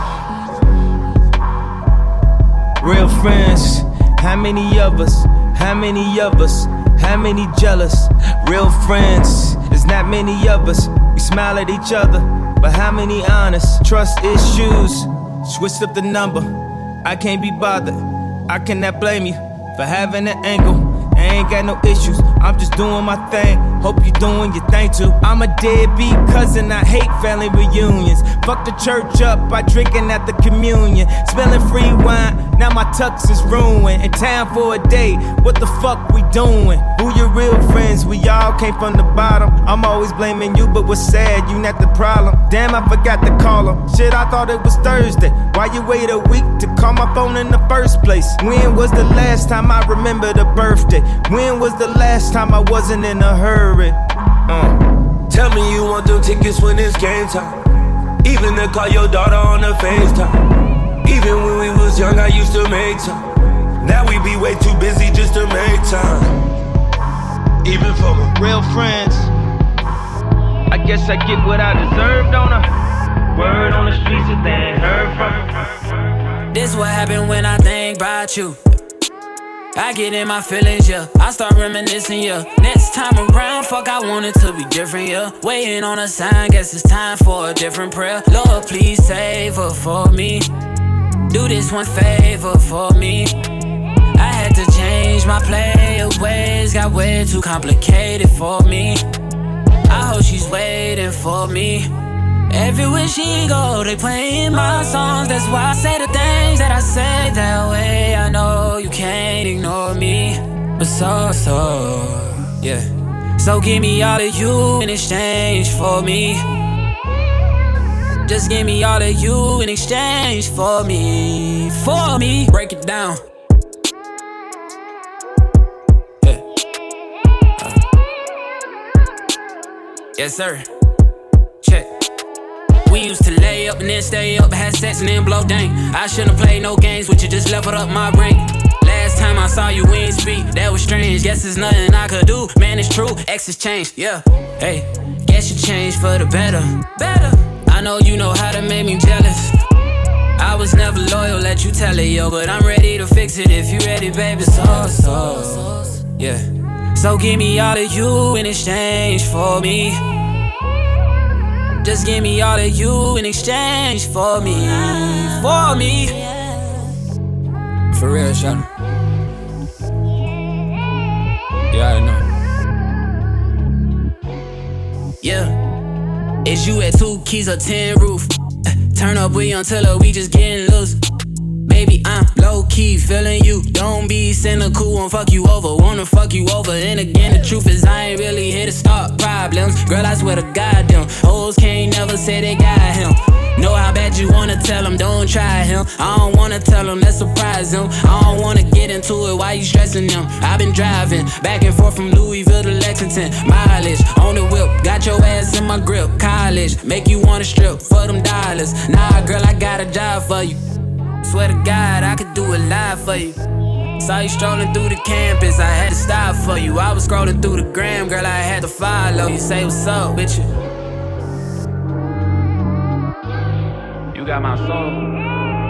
Real friends, how many of us? How many of us? How many jealous? Real friends, there's not many of us. We smile at each other, but how many honest? Trust issues, switched up the number. I can't be bothered, I cannot blame you for having an angle. I ain't got no issues, I'm just doing my thing. Hope you doing your thing too. I'm a deadbeat cousin, I hate family reunions. Fuck the church up by drinking at the communion. Smelling free wine, now my tux is ruined. In town for a day, what the fuck we doing? Who your real friends? We all came from the bottom. I'm always blaming you, but what's sad, you not the problem. Damn, I forgot to call him. Shit, I thought it was Thursday. Why you wait a week to call my phone in the first place? When was the last time I remembered a birthday? When was the last time I wasn't in a hurry? Tell me you want them tickets when it's game time. Even to call your daughter on the FaceTime. Even when we was young, I used to make time. Now we be way too busy just to make time. Even for my real friends, I guess I get what I deserve, don't I? Word on the streets that they ain't heard from. This what happened when I think about you. I get in my feelings, yeah. I start reminiscing, yeah. Next time around, fuck, I want it to be different, yeah. Waiting on a sign, guess it's time for a different prayer. Lord, please save her for me. Do this one favor for me. I had to change my player ways, got way too complicated for me. I hope she's waiting for me. Everywhere she go, they playing my songs. That's why I say the things that I say that way. I know you can't ignore me, but yeah. So give me all of you in exchange for me. Just give me all of you in exchange for me. For me, break it down. Yeah. Yes, sir. Check. We used to lay up and then stay up, had sex and then blow dang. I shouldn't play no games with you, just leveled up my brain. Last time I saw you, we ain't speak, that was strange. Guess there's nothing I could do, man, it's true, exes changed, yeah. Hey, guess you changed for the better. I know you know how to make me jealous. I was never loyal, let you tell it, yo. But I'm ready to fix it if you ready, baby, yeah. So give me all of you in exchange for me. Just give me all of you in exchange for me. For me. For real, shawty. Yeah, I know. Yeah. Is you at 2 keys or 10 roof? Turn up with Young Tiller, we just getting loose. Baby, I'm low-key feeling you. Don't be cynical, won't fuck you over. Wanna fuck you over. And again, the truth is I ain't really here to start problems. Girl, I swear to God, them hoes can't never say they got him. Know how bad you wanna tell him, don't try him. I don't wanna tell him, let's surprise him. I don't wanna get into it, why you stressing them? I've been driving back and forth from Louisville to Lexington. Mileage on the whip, got your ass in my grip. College, make you wanna strip for them dollars. Nah, girl, I got a job for you. Swear to God, I could do it live for you. Saw you strolling through the campus, I had to stop for you. I was scrolling through the gram, girl, I had to follow you. Say what's up, bitch. You got my soul.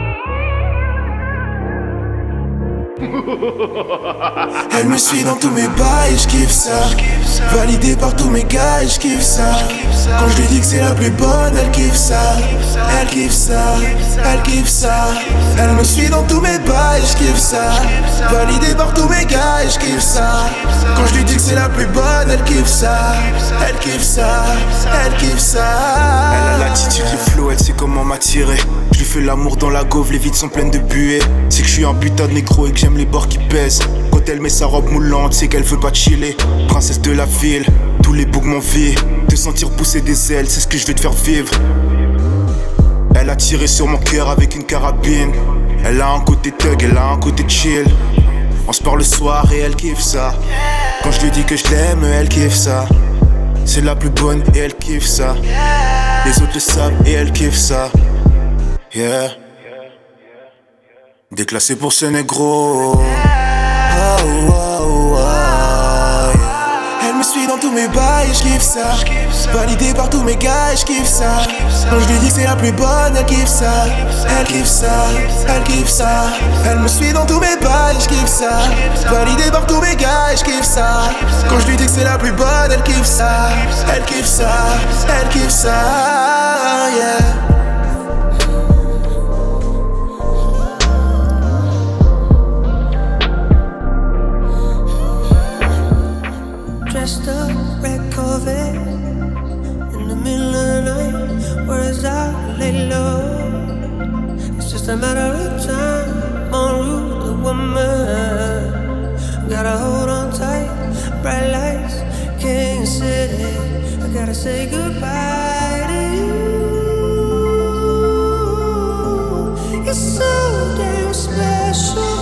Elle me suit dans tous mes bails, je kiffe ça. Validé par tous mes gars, je kiffe ça. Quand je lui dis que c'est la plus bonne, elle kiffe ça. Elle kiffe ça, elle kiffe ça. Elle me suit dans tous mes bails, je kiffe ça. Validé par tous mes gars, je kiffe ça. Quand je lui dis que c'est la plus bonne, elle kiffe ça. Elle kiffe ça, elle kiffe ça. Elle a l'attitude, le flow, elle sait comment m'attirer. Je lui fais l'amour dans la gauve, les vides sont pleines de buée. C'est que je suis un putain de négro et que j'aime les bords qui pèsent. Quand elle met sa robe moulante, c'est qu'elle veut pas chiller. Princesse de la ville, tous les bougs m'envient. Te sentir pousser des ailes, c'est ce que je vais te faire vivre. Elle a tiré sur mon cœur avec une carabine. Elle a un côté thug, elle a un côté chill. On se parle le soir et elle kiffe ça. Quand je lui dis que je l'aime, elle kiffe ça. C'est la plus bonne et elle kiffe ça. Les autres le savent et elle kiffe ça. Yeah. Déclassé pour ce négro. Oh, oh, oh, yeah. Elle me suit dans tous mes bails et j'kiffe ça. Validé par tous mes gars et j'kiffe ça. Quand je lui dis que c'est la plus bonne, elle kiffe ça. Elle kiffe ça, elle kiffe ça. Elle me suit dans tous mes bails et j'kiffe ça. Validé par tous mes gars et j'kiffe ça. Quand je lui dis que c'est la plus bonne, elle kiffe ça. Elle kiffe ça, elle kiffe ça, yeah. Dressed up, red Corvette, in the middle of the night, whereas I lay low. It's just a matter of time, en route to woman. Gotta hold on tight, bright lights, King City. I gotta say goodbye to you. You're so damn special.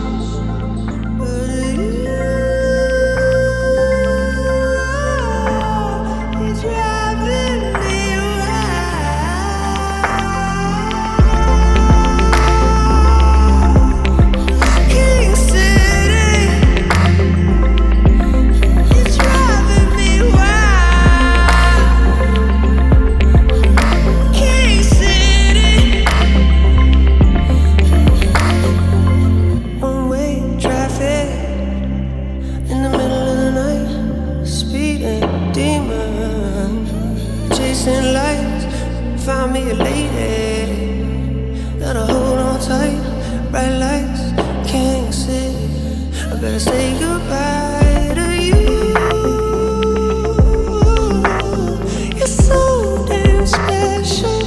Found me a lady, gotta hold on tight, bright lights, King City. I better say goodbye to you. You're so damn special.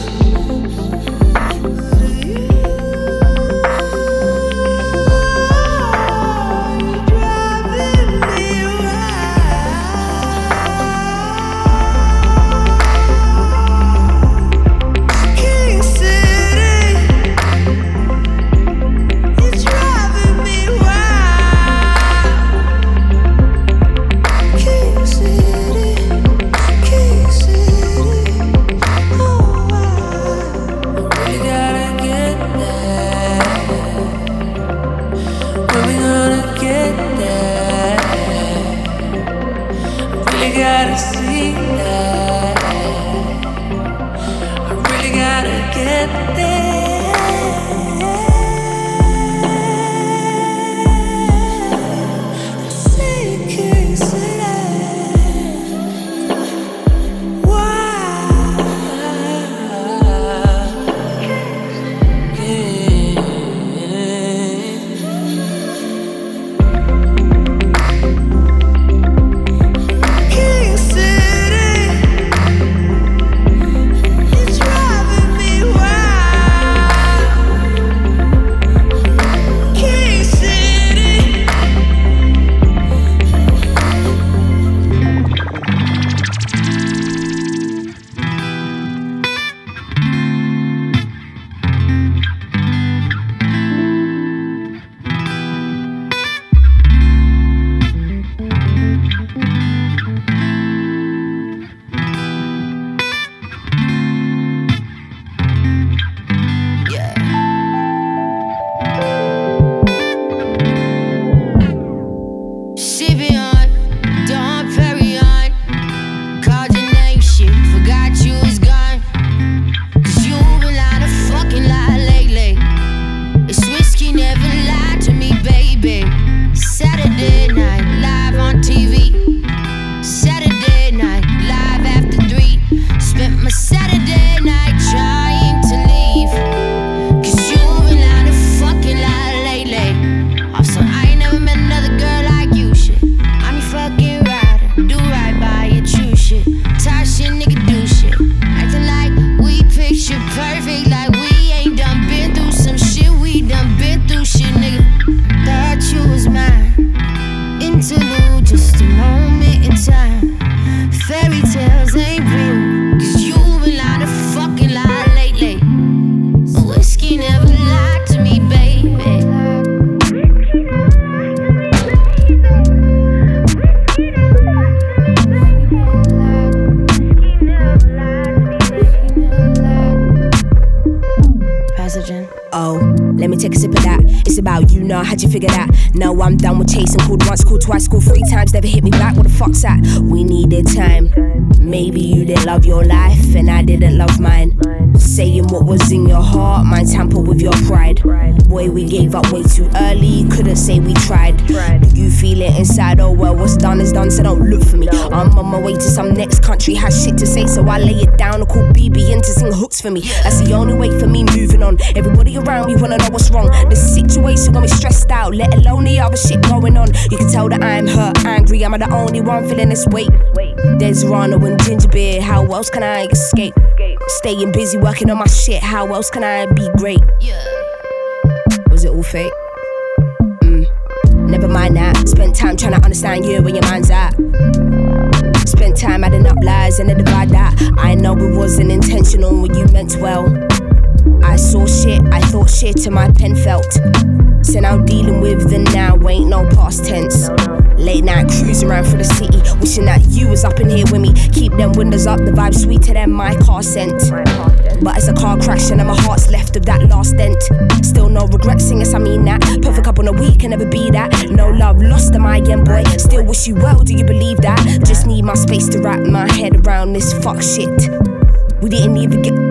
nah, how'd you figure that? No, I'm done with chasing. Called once, called twice, called 3 times, never hit me back. What the fuck's that? We needed time. Maybe you didn't love your life and I didn't love mine. Saying what was in your heart, mine tamper with your pride. Boy, we gave up way too early, couldn't say we tried. Do you feel it inside? Oh well, what's done is done, so don't look for me. I'm on my way to some next country, has shit to say, so I lay it down and call BB in to sing hooks for me. That's the only way for me moving on. Everybody around me wanna know what's wrong. This situation got me stressed out, let alone the other shit going on. You can tell that I'm hurt, angry, am I the only one feeling this weight? There's Rana and ginger beer, how else can I escape? Staying busy working on my shit, how else can I be great? Was it all fake? Never mind that. Spent time trying to understand you where your mind's at. Spent time adding up lies and then divide that. I know it wasn't intentional when you meant well. I saw shit, I thought shit and my pen felt. So now dealing with the now ain't no past tense. Late night cruising around through the city, wishing that you was up in here with me. Keep them windows up, the vibe sweeter than my car scent. But it's a car crash and my heart's left of that last dent. Still no regrets, yes I mean that. Perfect up on a week, can never be that. No love lost am I again, boy. Still wish you well, do you believe that? Just need my space to wrap my head around this fuck shit. We didn't even get...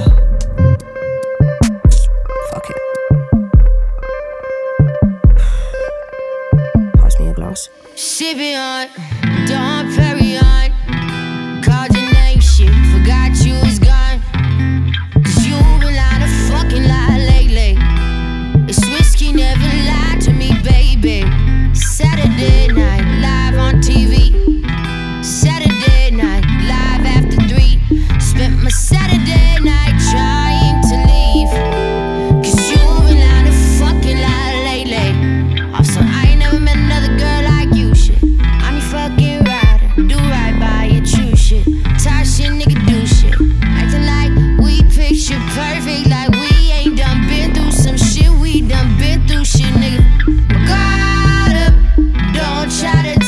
Fuck it. Pass me a glass. Sipping on, Dom Perignon. Called your name, shit, forgot you was gone. Cause you been lying a fucking lie lately. This whiskey never lied to me, baby. Saturday night, live on TV. Saturday night, live after 3. Spent my Saturday night trying to leave. Cause you been lying a fucking lie lately. Also, I ain't never met another girl like you, shit. I'm your fucking rider, do right by your true shit. Tired shit, nigga, do shit. Acting like we picture perfect, like we ain't done been through some shit. We done been through shit, nigga. Guard up, don't try to